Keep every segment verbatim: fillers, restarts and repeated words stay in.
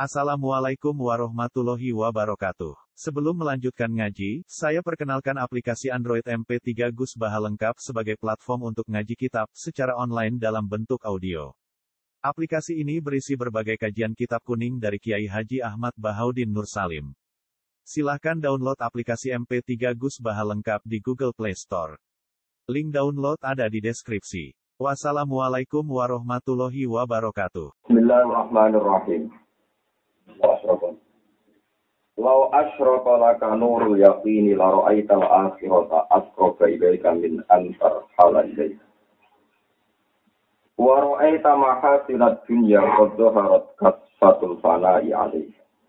Assalamualaikum warahmatullahi wabarakatuh. Sebelum melanjutkan ngaji, saya perkenalkan aplikasi Android M P tiga Gus Baha lengkap sebagai platform untuk ngaji kitab secara online dalam bentuk audio. Aplikasi ini berisi berbagai kajian kitab kuning dari Kiai Haji Ahmad Bahaudin Nur Salim. Silahkan download aplikasi M P tiga Gus Baha lengkap di Google Play Store. Link download ada di deskripsi. Wassalamualaikum warahmatullahi wabarakatuh. Bismillahirrahmanirrahim. Wasrokan. Lau asyraka laka nurul yaqini la ra'aital akhirata asqraba ilaika min antar halailai. Wa ra'aita mahasinad dunya qad zaharat kasfatul fana'i alaih.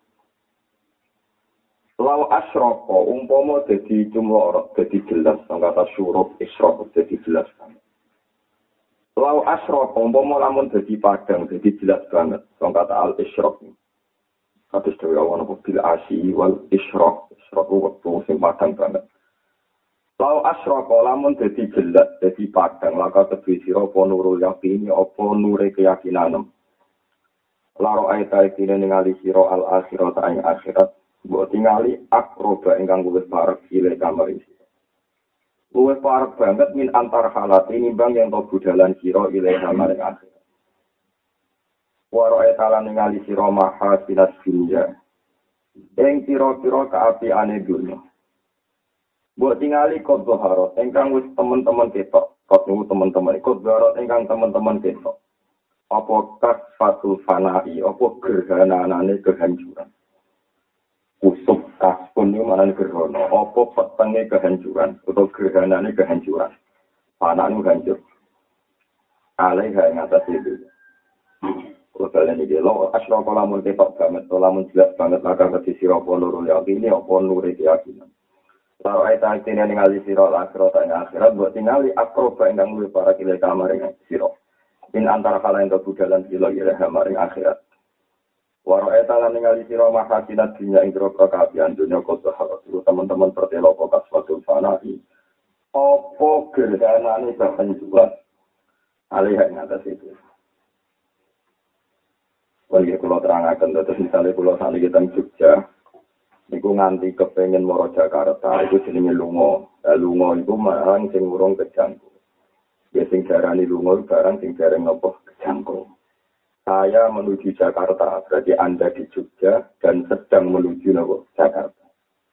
Lau asyraka umpama dadi jumlah dadi jelas kata syuruk isyraq dadi jelas banget. Lau asyraka umpama lamun dadi padang dadi jelas banget kata al isyraq. Hadis dari Allah bil asyi wal isyraq isyraq waktu sing padang banget. Lau asyraka lamun dadi jelas dadi padang laka tebi sira apa nurul yaqini apa nure keyakinan. Laro aita ikine ningali sira al akhirat ing akhirat mbok tingali akroba ingkang luwih parek ile kamari sira. Luwih parek banget min antar halat nimbang yang to budalan sira ile kamari akhirat. Waro etalan ningali sira maha sinas dunya. Ing pira-pira kaapiane dunya. Mbok tingali kod zaharat ingkang wis teman-teman ketok, kod niku teman-teman kod zaharat ingkang teman-teman ketok. Apa kasfatul fana'i, apa gerhanane kehancuran. Kusuk kaspun niku manane gerhana, apa petenge kehancuran utawa gerhanane kehancuran. Fanane hancur. Alaiha ing atas itu. Kalian ini lo asyraka lamun ketok banget, lamun jelas banget maka keti sira apa nurul yaqini apa nure keyakinan. Lalu ayat ayat ini ningali sira akhirat ing akhirat buat tingali akroba ingkang luwih para kile kamaring sira. In antara kala ing kebudalan sira ila kamaring akhirat. Waro ayat lan ningali sira mahasinat dunya ing groko kabian dunya koso harus teman-teman pertelo apa kasfatul fana'i. Apa gerhanane kehancuran. Alih ing atas itu. Bagi kalau terangkan, terus misalnya kalau saat kita di Jogja, itu nganti kepengen moro Jakarta, itu jenenge lungo. Nah, lungo itu marang sing urung kejangkau. Ya sing darani lungo barang sing jarang ngopo kejangkau. Saya menuju Jakarta, berarti Anda di Jogja dan sedang menuju nopo Jakarta.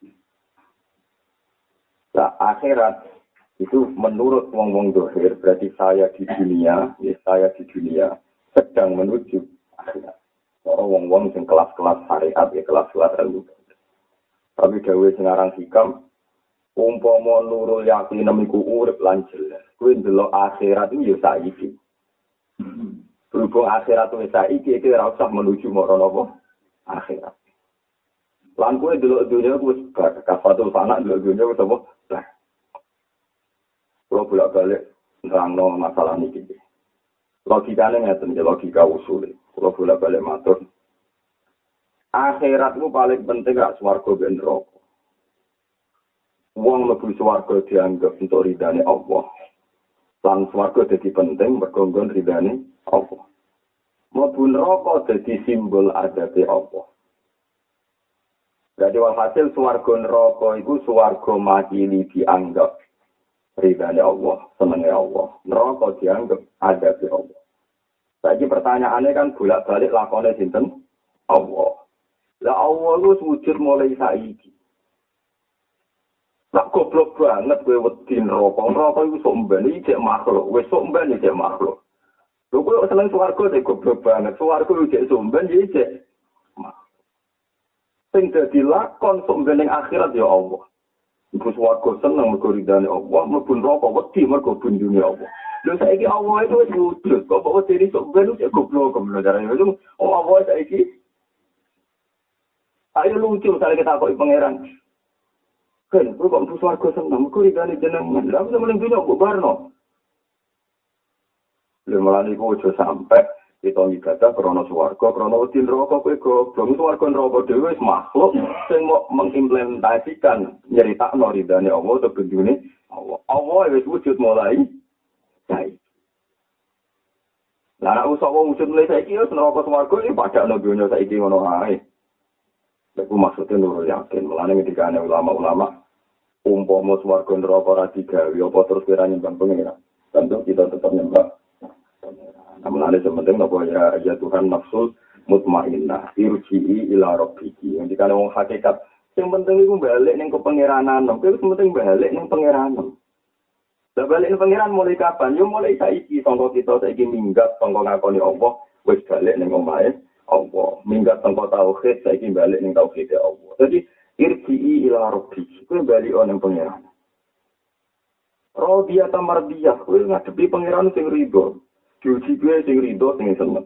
Nah, akhirat itu menurut wong-wong dohir, berarti saya di dunia, ya saya di dunia sedang menuju akhirat. Orang wong-wong sing kelas-kelas syariat ya kelas-kelas ilmu. Tapi dawuh sing aran hikam umpama nurul yakin nemiku urip lan jelas. Kuwi ndelok akhirat iki ya saiki. Berhubung akhirat wis saiki iki ora usah menuju marang apa akhirat. Lan kuwi ndelok dunya wis kafatul fana ndelok dunya wis apa? Lah. Kalau bolak-balik nerangno masalah niki. Logikane ngeten iki logika usul. Kalau bolak-balik matur. Akhirat itu paling penting gak swarga ben neraka. Wong mlebu swarga dianggap untuk ridane Allah. Lan swarga dadi penting mergo nggon ridane Allah. Mlebu neraka dadi simbol adabe Allah. Jadi walhasil swarga neraka iku swarga makili dianggap ridane Allah, senenge Allah. Neraka dianggap adabe Allah. Saiki pertanyaannya kan bolak-balik lakone sinten? Allah. Lah Allah lu wujud mulai saiki. Lah goblok banget kowe wedi neraka. Neraka iku sok mben iki makhluk. Wis sok mben iki makhluk. Lho kowe seneng swarga sing goblok banget. Swarga iki sok mben iki makhluk. Sing dadi lakon sok mben ning akhirat ya Allah. Iku swarga seneng mergo ridane Allah, mlebu neraka wedi mergo bunjune Allah. Lho saiki Allah itu wis wujud, kok kok diri sok ben wis goblok goblok jarane itu. Oh Allah saiki. Ayo lucu misalnya kita kok pangeran. Kan, kok kok swarga seneng, kok ridane jenengan. Lah aku mending dunya kok barno. Lha malah iku aja sampe kita ibadah krana swarga, krana wedi neraka kowe goblok. Swarga neraka dhewe wis makhluk sing mau mengimplementasikan nyeritakno ridane Allah utawa benjune Allah. Allah wis wujud mulai. Baik. Lah nek usah wong wujud mulai saiki wis neraka swarga iki padakno donya saiki ngono ae. Iku maksudnya nurul yakin. Mulane ketika ulama-ulama umpama swarga neraka ora digawe apa terus kira nyembah pengira. Tentu kita tetap nyembah. Namun ada sementing napa ya ya Tuhan nafsul mutmainnah irji'i ila rabbiki. Yang dikane wong hakikat sing penting iku balik ning kepengiranan. Kuwi sing penting balik ning pengiranan. Lah balik ning pengiran mulai kapan? Yo mulai saiki sangka kita saiki minggat sangka ngakoni Allah wis balik ning omahe Allah. Minggat sangka tauhid saiki balik ning tauhid Allah. Jadi irji'i ila rabbiki. Kuwi balik ning pengiran. Rodiyah ta mardiyah kuwi ngadepi pengiran sing ridho. Diuji gue sing rido sing seneng.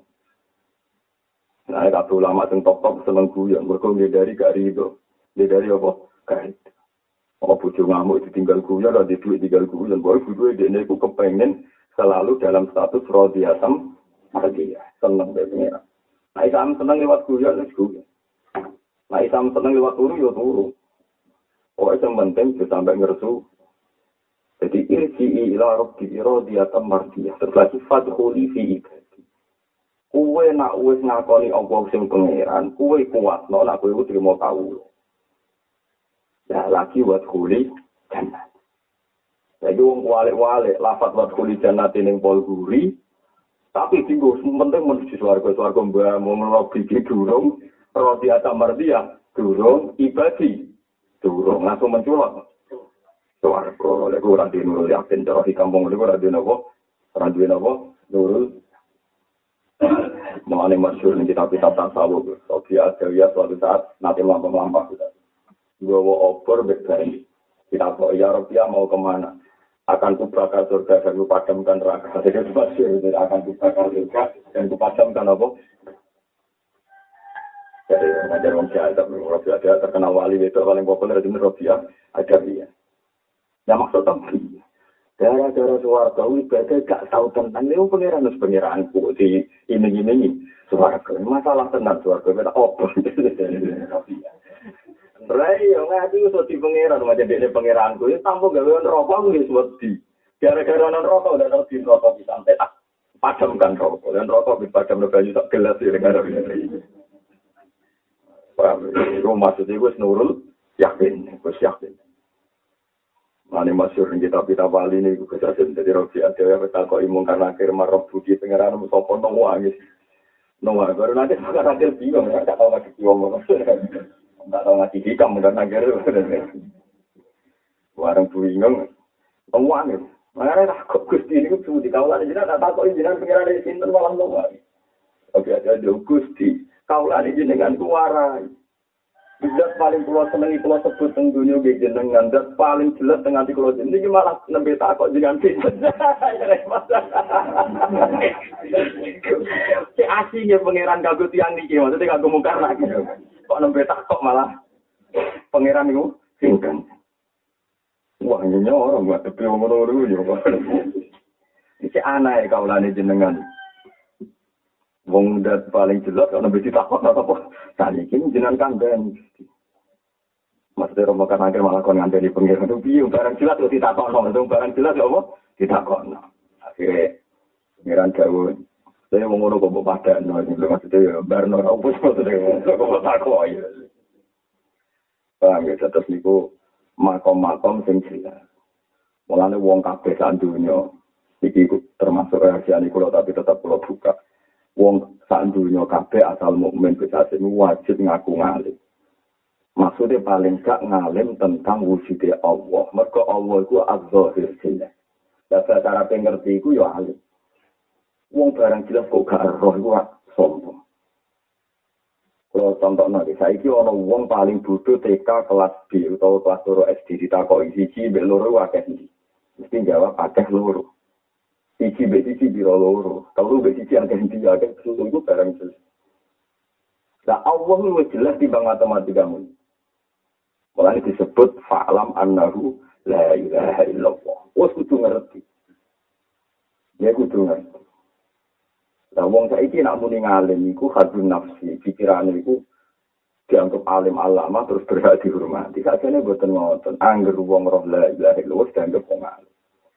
Nah, kabeh ulama sing top-top seneng guyon, mergo dari gak rido. Dari apa? Kait. Apa bojo ngamuk ditinggal guyon ora di duit tinggal guyon. Boy bojo dene iku kepengin selalu dalam status rodiyatam mardia. Seneng dhewe pengira. Nah, isam seneng lewat guyon wis guyon. Nah, isam seneng lewat turu yo turu. Oh, sing penting sampai ngersu. Jadi irji'i ila rabbi radiyatan mardiyah. Terus lagi fadkhuli fi ibadi. Kuwe nak wis ngakoni Allah sing pangeran, kuwe kuat no nak kuwe trimo kawula. Ya lagi wadkhuli jannah. Jadi wong wale-wale lafaz wadkhuli jannah ning pol guri, tapi tinggo penting menuju swarga swarga mbah mung rabbi durung radiyatan mardiyah, durung ibadi. Durung langsung menculok. Suarga, lek ora di nurul yakin cara di kampung lek ora di nopo, ora di nopo, nurul. Mengenai masyhur ning kitab-kitab tasawuf, Sofi Adawiyah suatu saat nanti lampa-lampa kita. Gua obor berbalik. Kita kok ya Rabbia mau kemana? Akan kubakar surga dan kupadamkan neraka. Jadi masyhur akan kubakar surga dan kupadamkan apa? Jadi ngajar wong jahat, Rabbia ada terkenal wali itu paling populer di Rabbia Adawiyah. Ya maksudnya gara-gara suarga ibadah gak tahu tentang itu pengiran terus pengiranku di ini-ini suarga masalah tenang suarga beda opo Rai yang ngaji usah di pengiran macam dia pengiranku itu tanpa gawean rokok nggak seperti gara-gara non rokok udah tahu di rokok bisa sampai tak padamkan rokok dan rokok dipadam lebih tak gelas ya gara-gara ini. Paham? Itu maksudnya gue nurul yakin, gue yakin. Mane masyhur ing kitab-kitab wali niku kesajen dadi rofi ada wis tak kok imung karena akhir marab budi pengeran sapa nang wangis. Nang baru nanti sekarang akhir bingung ya tak tahu lagi wong. Tak tahu ngaji hikam dan akhir. Warang bingung. Nang wangis. Mare tak kok Gusti niku kudu dikawulane jenengan tak takok jenengan pengeran iki sinten malah nang wangis. Oke ada Gusti kawulane jenengan ku warai. Zat paling pulau senengi pulau sebut teng dunia ge jenengan zat paling jelas teng ati kula jeneng iki malah nembe takok jenengan pinten. Si asine pangeran kanggo tiyang niki maksudnya kanggo mungkar lagi. Kok nembe takok malah pangeran niku pinten. Wah nyenya ora mbak tepi ngono-ngono yo. Iki anae kaulane jenengan. Wong dat paling jelas kalau lebih ditakut apa tadi ini jenengan kandang maksudnya romo kan akhir malah kon ngandeli pengiran itu piye barang jelas kok ditakut no itu barang jelas apa ditakut no akhirnya pengiran jauh saya mau ngono kok pada no maksudnya ya barno apa maksudnya kok takut ya paham ya terus niku makom-makom sing jelas mulane wong kabeh sak donya iki termasuk rahasiane kula tapi tetap kula buka. Wong sak dunya kabeh asal mukmin bisa wajib ngaku ngalim. Maksudnya paling gak ngalim tentang wujudnya Allah. Mergo Allah iku az-zahir jelas. Lah cara pengerti iku ya alim. Wong barang jelas kok gak roh iku sombong. Kalau contohnya, saiki ana wong paling bodoh T K kelas B utawa kelas loro S D ditakoki siji mbek loro akeh iki. Mesti jawab akeh loro. Siji mbek siji biro loro. Kalau mbek siji akeh iki akeh susu iku barang jelas. Lah Allah wis jelas di bang matematika mun. Mulane disebut fa'lam annahu la ilaha illallah. Wes kudu ngerti. Ya kudu ngerti. Lah wong saiki nak muni ngalim iku hadun nafsi, pikirane iku dianggap alim alama terus berhak dihormati. Sakjane boten ngoten. Angger wong roh la ilaha illallah dianggap wong alim.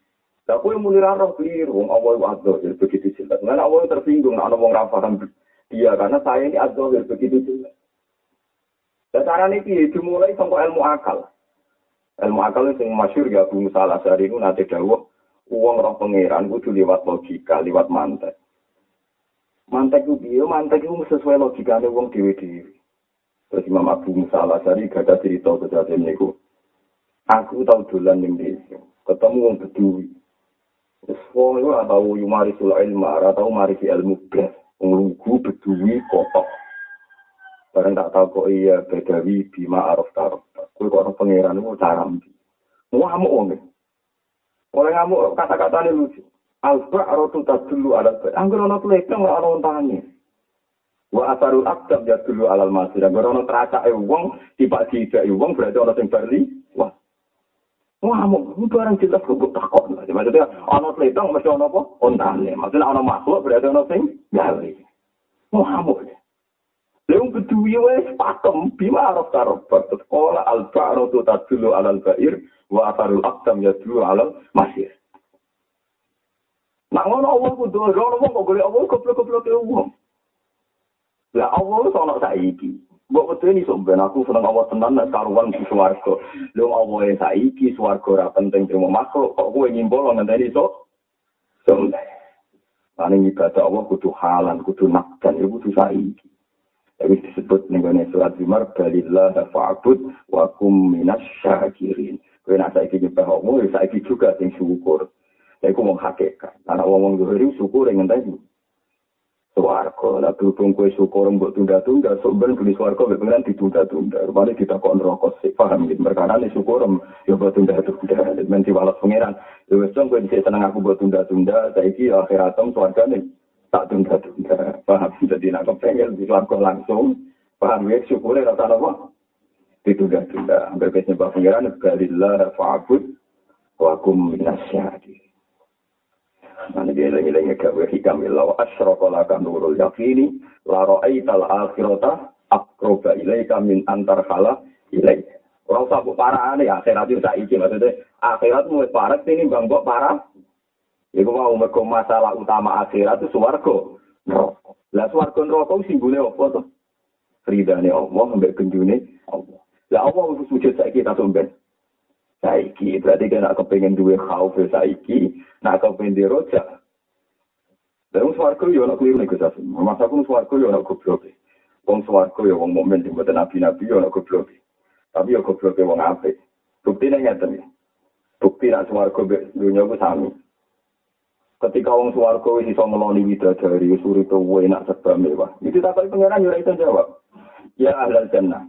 Aku yang muni roh keliru, wong Allah adzahir begitu jelas. Karena Allah tersinggung, ana wong ra paham dia karena saya ini adzahir begitu jelas. Dan cara ini dimulai sampai ilmu akal. Ilmu akal yang masyhur ya Abu Musa al-Asy'ari itu nanti dawuh uang roh pangeran kudu liwat logika, liwat mantek. Mantek itu piye? Mantek itu sesuai logikane wong dhewe-dhewe. Terus Imam Abu Musa al-Asy'ari gada cerita kejadian niku. Aku tau dolan ning desa, ketemu wong Bedui. Wis wong iku ora tau yumarisul ilma, ora tau marisi ilmu blas. Wong lugu Bedui kotok. Barang tak tahu kok iya bedawi bima araf taraf. Kue kok orang pangeran itu cara mbi. Ngamuk wong. Oleh ngamuk kata-katanya lucu. Alba arotu tak dulu alat. Anggur ono pelekang ora ono ontane. Wa asarul akdam ya dulu alal masir. Anggur ono teracake wong, tiba tidak wong berarti ono sing barli. Wah. Ngamuk, itu barang jelas kok takon. Maksudnya ono pelekang mesti ono apa? Ontane. Maksudnya ono makhluk berarti ono sing gawe. Ngamuk. Leung Bedui wis pakem bima araf taraf sekolah al-ba'ru tadullu alal ba'ir wa atharul aqdam yadullu alal masir. Nak ngono Allah kudu ora wong kok golek Allah goblok-goblok e wong. Lah Allah wis ana saiki. Mbok wedeni sok ben aku seneng Allah tenan nek karuan di swarga. Leung Allah e saiki swarga ora penting trimo makhluk kok kowe nyimpul ngenteni sok. Sok. Paling ibadah Allah kudu halan, kudu nakdan, iku kudu saiki. Tapi disebut nih surat Zumar balillah fa'bud wa kum minas syakirin. Kowe nak saiki nyembah Allah, saiki juga sing syukur. Lha iku wong hakikat. Ana wong zuhur syukur ngenteni. Swarga, lah berhubung kowe syukur mbok tunda-tunda, sok ben beli swarga mek pengen ditunda-tunda. Rupane ditakon neraka sik paham iki. Merkarane syukur yo mbok tunda-tunda. Men diwales pangeran. Ya wis kowe dhisik seneng aku mbok tunda-tunda, saiki akhiratem swargane tak tunda-tunda, paham? Jadi nak kepengen di swarga langsung, paham ya? Syukurnya rasa apa? Ditunda-tunda. Hampir biasanya Pak Pengiran, balillah fa'abud wa kum minasyadi. Mana dia lagi-lagi gawe hikam illaw asyraqalaka nurul yaqini la ra'aital akhirata aqroba ilaika min antar khala ilaika. Orang sabuk parahane akhirat itu saiki maksudnya akhirat mulai parah ini bang kok parah. Iku mau mergo masalah utama akhirat itu swarga. Neraka. Lah swarga neraka simbole apa to? Ridane Allah mbek genjune Allah. Lah Allah wis wujud saiki ta somben. Saiki berarti kan aku pengen duwe khauf saiki, nak aku pengen dirojak. Lah swarga yo ana kliru nek Gus. Masa aku swarga yo ana goblok. Wong swarga yo wong mukmin sing mboten nabi-nabi yo ana goblok. Tapi yo goblok wong apik. Buktine ngeten. Bukti nak swarga mbek dunya ku sami. Ketika orang swarga wis iso ngeloni widadari surito enak serba mewah. Itu takoi pangeran yo ora iso jawab. Ya ahlal jannah.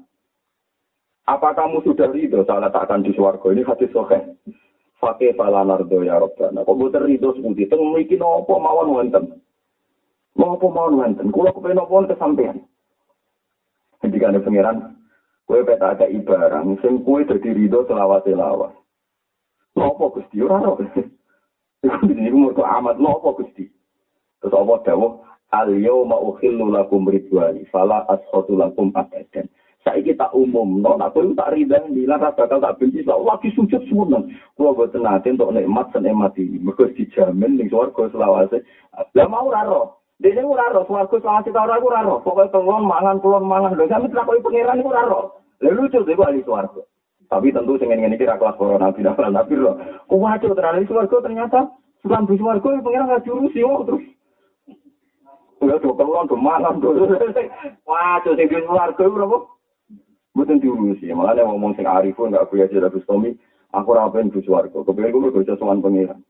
Apa kamu sudah ridho saat akan di swarga? Ini hadis sahih. Fakih falanardo ya Rabbana. Kok boten ridho sepundi teng mriki napa mawon wonten. Napa mawon wonten. Kula kepen napa kesampean. Ketika ada pangeran, kowe peta ada ibarang sing kowe dadi ridho selawat-selawat. Napa Gusti ora ora. Ini umur amat nopo Gusti. Terus Allah dawuh, al-yauma ukhillu lakum ridwani fala askhatu lakum abadan. Saiki tak umumno, nek kowe tak ridani lan bakal tak benci lagi sujud suwun. Kula boten nate entuk nikmat senikmat iki. Mergo dijamin ning swarga selawase. Lah mau ora ro. Dene ora ro swarga selawase ta ora ora ro. Pokoke tenggon mangan kulon mangan. Lho sampe takoki pangeran iku ora ro. Lha lucu iku ahli swarga. Tapi tentu sing ngene iki ra kelas corona tidak pernah tapi lho. Kuwaco tenan iki swarga ternyata sulam di swarga pengen enggak jurusi wong terus. Udah dokelon domanan to. Wah, to sing di swarga berapa? Mboten diurusi. Makane ngomong sing arifun enggak kuya jare Bustomi, aku ora pengen di swarga. Kepengen ku kerja sowan pengiran.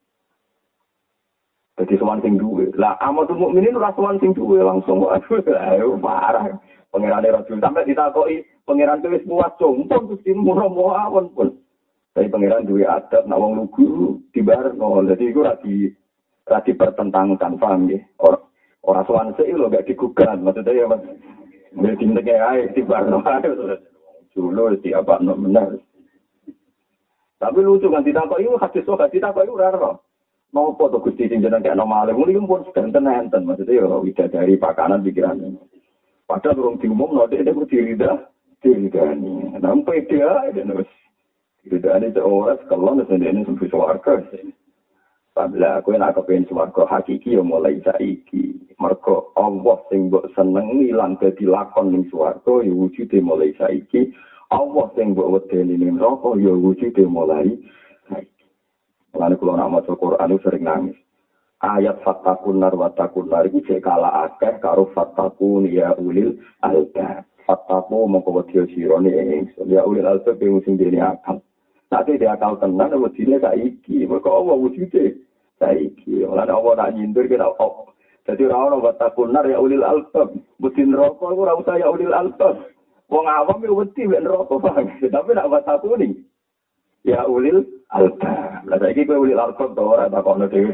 Dadi sowan sing duwe. Lah amatul mukminin ora sowan sing duwe langsung aduh ayo parah. Pengerane rajul sampai ditakoki pengeran wis puas jompong Gusti murah mawon pun. Tapi pengeran duwe adab nek wong lugu dibarno. Dadi iku ora di ora dipertentangkan, paham nggih? Ora ora sowan sik lho gak digugat. Maksudnya ya Mas. Nek dinteke ae dibarno ae. Dulu di apa no benar. Tapi lucu kan ditakoki hadis kok ditakoki ora ora. Nopo to Gusti sing jeneng kaya normal. Muli pun enten-enten maksudnya ya widadari pakanan pikiran. Padahal orang diumum, no, dia itu dirida, diridani. Nampak dia, dia nulis. Diridani seorang, sekolah, dan dia ini sampai suarga. Lah kowe nek kepengin swarga hakiki ya mulai saiki. Mergo Allah sing mbok senengi lan dadi lakon ning swarga ya wujude mulai saiki. Allah sing mbok wedeni ning neraka ya wujude mulai saiki. Lan kula nak maca Quran sering nangis. Ayat fatakun nar watakun nar iki cek kala akeh karo fatakun ya ulil albab. Fataku mongko wedi sira ne ya ulil albab sing dene akal. Nek dia akal tenan wedine saiki, mergo Allah wujude saiki. Lan Allah nak nyindir kena op. Dadi ora ono watakun nar ya ulil albab. Wedi neraka ora usah ya ulil albab. Wong awam yo wedi mek neraka bang. Tapi nek watakuni ya ulil albab. Lah saiki kowe ulil albab to ora takokno dhewe.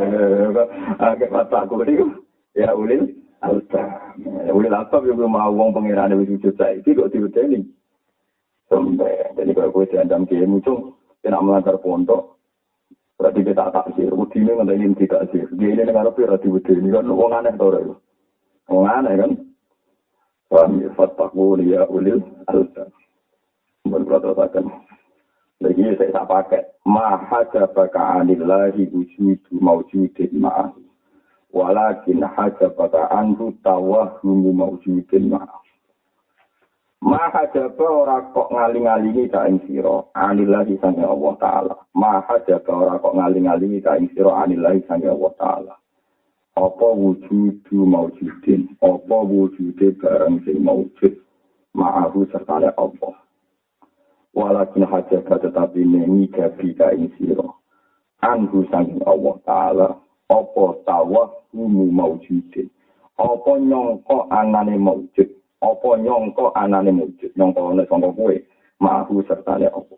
Akeh watakuni ya ulil albab. Ulil albab yo mau wong pangerane wis wujud saiki kok diwedeni. Sampai jadi kalau kowe diandam kiai muncung kena melanggar pondok. Berarti kita tak sih, udine ngenteni tidak sih. Dia ini dengar apa ora diwedeni kan wong aneh to ora. Wong aneh kan. Paham ya fattaku ya ulil albab. Berkata-kata lagi saya tak pakai mahajabaka anillahi wujudu mawjudin ma'ah walakin hajabaka anhu tawahhumu mawjudin ma'ah. Mahajaba ora kok ngaling-alingi ka ing sira anillahi sange Allah taala. Mahajaba ora kok ngaling-alingi ka ing sira anillahi sange Allah taala. Apa wujudu mawjudin, apa wujude barang sing mawjud ma'ahu serta Allah. Walakin hajabah tetapi nengi gabi kain siro anhu sanging Allah Ta'ala apa tawahhumu mawjudin apa nyongko anane mawjud apa nyongko anane mawjud nyongko anane sangka kue ma'ahu sertane Allah.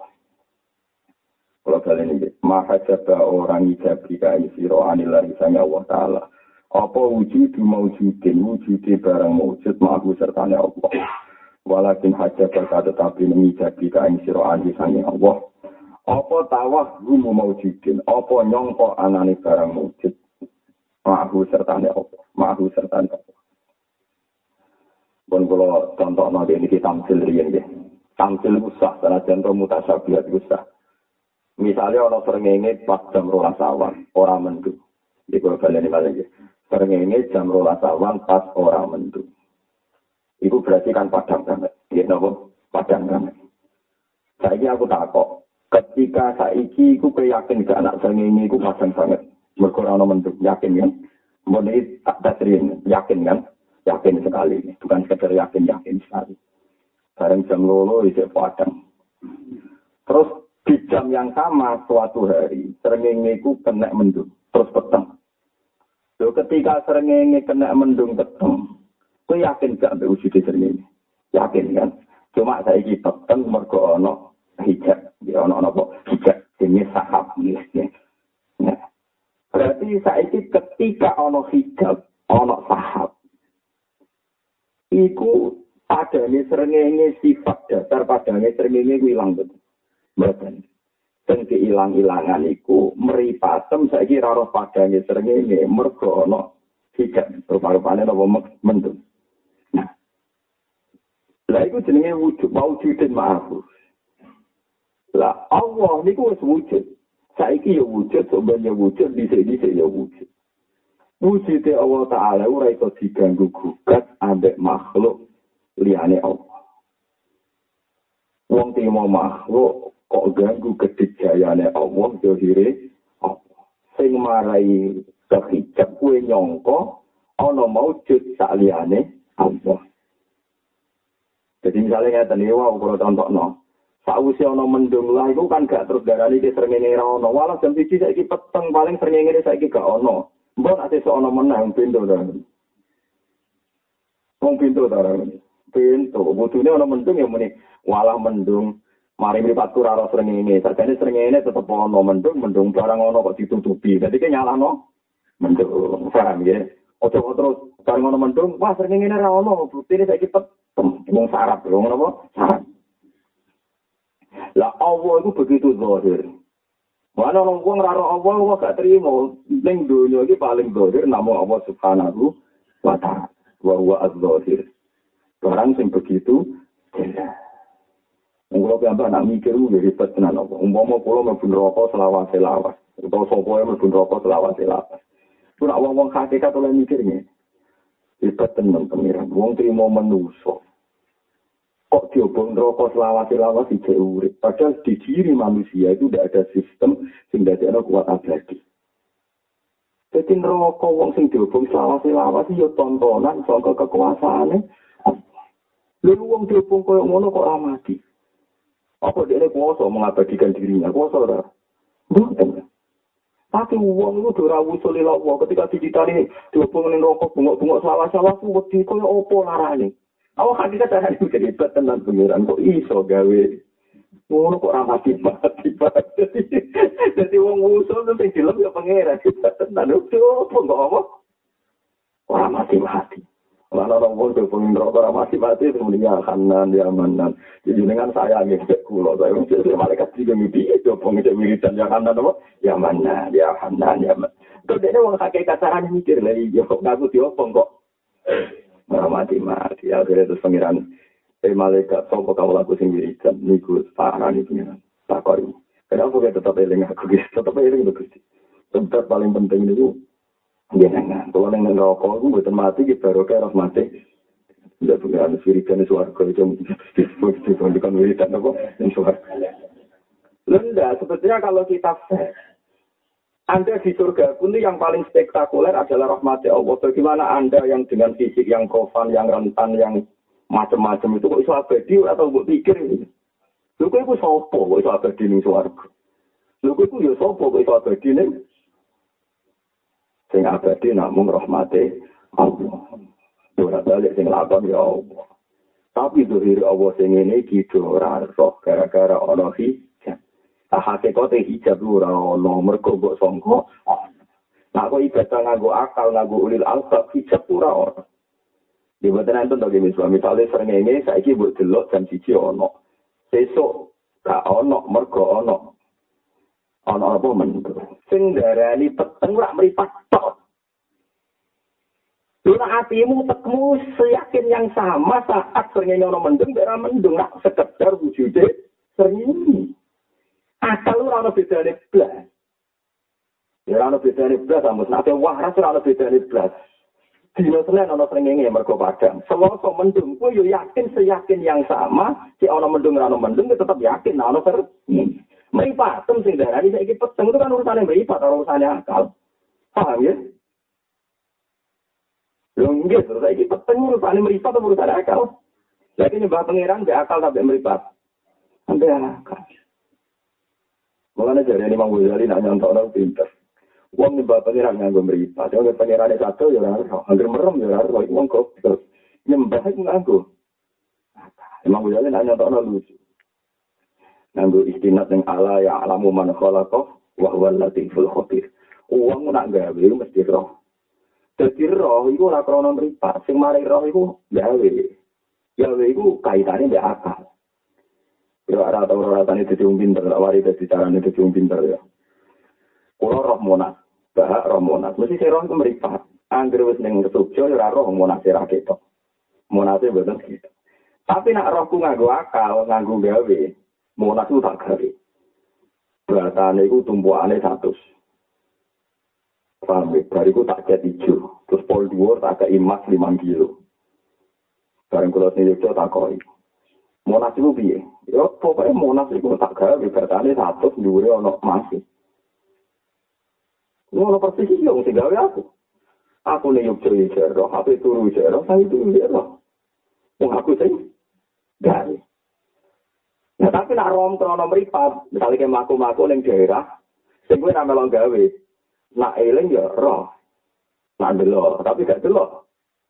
Kalau kalian ini mahajabah orang gabi kain siro anillahi sanging Allah Ta'ala apa wujudu mawjudin wujudi barang mawjud ma'ahu sertane Allah. Walakin hajat berkata tapi mengijabi kain siro'ani sanging Allah. Apa tawah gumu mawjudin. Apa nyongko anani barang mawjud. Ma'ahu sertane Allah. Ma'ahu sertane Allah. Pun kalau contoh nanti ini kita tamsil rian ya. Tamsil usah. Karena contoh mutasabihat usah. Misalnya orang serengenge pas jam rolas awan. Orang mendung. Jadi kalau kalian ini balik ya. Serengenge jam rolas awan pas orang mendung. Itu berarti kan padang banget. Ya, nopo padang banget. Saiki aku takok, ketika saiki aku yakin gak anak srengenge iku padang banget. Mergo ora ono mendung, yakin kan? Mun iki tak tasrin, yakin kan? Yakin sekali. Bukan sekedar yakin, yakin sekali. Bareng jam loro isih padang. Terus di jam yang sama suatu hari, srengenge iku kena mendung, terus peteng. Lho ketika srengenge kena mendung peteng, aku yakin gak ambil wujud srengenge. Yakin kan? Cuma saiki peteng mergo ana hijab. Ya ana apa? Hijab jenis sahab ya. Nah. Berarti saiki ketika ana hijab, ana sahab. Iku padane srengenge sifat dasar padane srengenge ku ilang betul. Mboten. Sing diilang-ilangan iku mripatem saiki ora roh padane srengenge mergo ana hijab. Rupa-rupane apa mendung. Lah iku jenenge wujud maujudin ma'ahu. Lah Allah niku wis wujud. Saiki ya wujud, sebenarnya wujud, dhisik-dhisik ya wujud. Wujude Allah Ta'ala ora iso diganggu gugat ambek makhluk liyane Allah. Wong timo makhluk kok ganggu kedijayane Allah zahire Allah. Sing marai kehijab kuwi nyangka ana maujud sak liyane Allah. Jadi misalnya ngeten iki wae kula contohno. Sakwise ana mendung lah iku kan gak terus darani ki srengenge ra ono. Walah jam siji saiki peteng paling srengenge saiki gak ono. Mbok nek sesuk ana meneh pintu ta. Wong pintu ta ra. Pintu butune ana mendung ya muni walah mendung mari mripatku ra ora srengenge. Sakjane srengenge tetep ana mendung, mendung barang ono kok ditutupi. Dadi ki nyalahno mendung. Paham ya? Ojo terus bareng ana mendung, wah srengenge ra ono, butine saiki peteng. Wong sarap, wong apa? Sarap. Lah Allah itu begitu zahir. Mana orang wong ora Allah kok gak terima. Ning donya iki paling zahir namung Allah Subhanahu wa ta'ala. Wa huwa az-zahir. Barang sing begitu jelas. Wong kula piyambak nak mikir ku ribet tenan apa. Umpama kula mlebu neraka selawase-lawas. Utawa sapa yang mlebu neraka selawase-lawase. Ku nak wong-wong hakikat oleh mikirnya. Hebat tenan pengiran. Wong trimo manusa. Kok diobong neraka selawase-lawase jek urip. Padahal di diri manusia itu tidak ada sistem sing dadekno kuat abadi. Jadi neraka wong sing diobong selawase-lawase ya tontonan saka kekuasaane. Lalu wong diobong koyo ngono kok ora mati. Apa dia kuasa mengabadikan dirinya? Kuasa ora? Mboten. Tapi uang itu ora wusul ila Allah ketika dicitani diobong ning neraka bungok-bungok selawase-lawase wedi koyo apa larane. Awak hakikat carane iki hebat tenan pengiran kok iso gawe ngono kok ora mati-mati. Dadi wong wusul sing dilem ya pengiran hebat tenan opo kok apa? Ora mati-mati. Mana orang pun berpengin rokok orang mati-mati semuanya kanan dia manan. Jadi dengan saya nih kulo saya mesti malaikat juga mimpi itu pengin wiridan yang kanan apa? Ya mana dia kanan ya mana. Terus dia orang kakek kasaran mikir lagi yo ngaku diopong kok. Orang mati-mati akhirnya terus pengiran eh malaikat sopo kamu laku sing wiridan niku parah nih pengiran takoi. Kenapa kita tetap eling aku guys tetap eling bagus. Tempat paling penting itu jenengan, kalau neng rokok, aku bukan mati, kita rokok harus mati. Tidak punya anu sirikan suarga itu, dibandingkan wiridan apa, yang suarga. Lenda, sebetulnya kalau kita Anda di surga pun yang paling spektakuler adalah rahmat Allah. Bagaimana Anda yang dengan fisik yang kofan, yang rentan, yang macam-macam itu kok bisa abadi atau buat pikir ini? Lu kok itu sopo, kok bisa abadi ning suarga? Lu kok itu ya sopo, kok bisa abadi ning sing abadi namung rahmate Allah. Ora balik sing lakon ya Allah. Tapi zuhir Allah sing ngene iki ora roh gara-gara ana hijab. Ah hakikate hijab ora ana mergo mbok sangka. Nah kok ibadah nganggo akal nganggo ulil albab hijab ora ana. Di boten enten to gene suami misale srengenge saiki mbok delok jam siji ana. Sesuk gak ana mergo ana. Ana apa men? Sing darani peteng ora mripat tok. Lha atimu tekmu seyakin yang sama saat srengenge ana mendung ora mendung nak sekedar wujude srengenge. Asal ora ana bedane blas. Ya ora ana bedane blas amus nek waras ora ana bedane blas. Dino Senin ana srengenge mergo padang. Selasa mendung kuwi yo yakin seyakin yang sama, si ana mendung ora ana mendung tetep yakin ana srengenge. Meripat, sing darani saiki peteng itu kan urusannya meripat, urusannya akal. Paham ya? Lho nggih, terus saiki peteng urusannya meripat atau urusannya akal? Lagi nyembah pangeran be akal sampai meripat. Sampai akal. Mulane jare Imam Ghazali nak nyontokno pinter. Wong nyembah pangeran nganggo meripat, yo pangerane satu yo ora ero, anggere merem yo ora ero, wong kok nyembah iku nganggo. Imam Ghazali nak nyontokno lucu. Nganggo istinad yang ala ya alamu man khalaqa wa huwal latiful khabir. Wong nak gawe mesti roh. Dadi roh iku ora krana mripat, sing mari roh iku gawe. Gawe iku kaitane mbek akal. Yo ora tau ora tani dadi wong pinter, wari dadi carane dadi wong pinter ya. Kulo roh monas, bahak roh monas. Mesti sing roh iku mripat. Anggere wis ning Jogja ora roh monas ra ketok. Monase mboten gitu. Tapi nak rohku nganggo akal, nganggo gawe. Monas itu tak gawe. Beratane itu tumpuane satu. Paham ya? Bariku tak cat hijau. Terus pol dua tak ke emas lima kilo. Barang kalau sini itu tak koi. Monas itu piye? Ya pokoknya Monas itu tak gawe. Beratane satu, dua ono masih. Ngono persis iki wong sing gawe aku. Aku nek yo jero, H P turu jero, saya turu jero. Wong aku sing gawe. Nah, tapi nak rom krono mripat, misalnya kayak maku-maku ning daerah, sing kuwi ra melong gawe. Nak eling ya roh. Nak delok, tapi gak delok.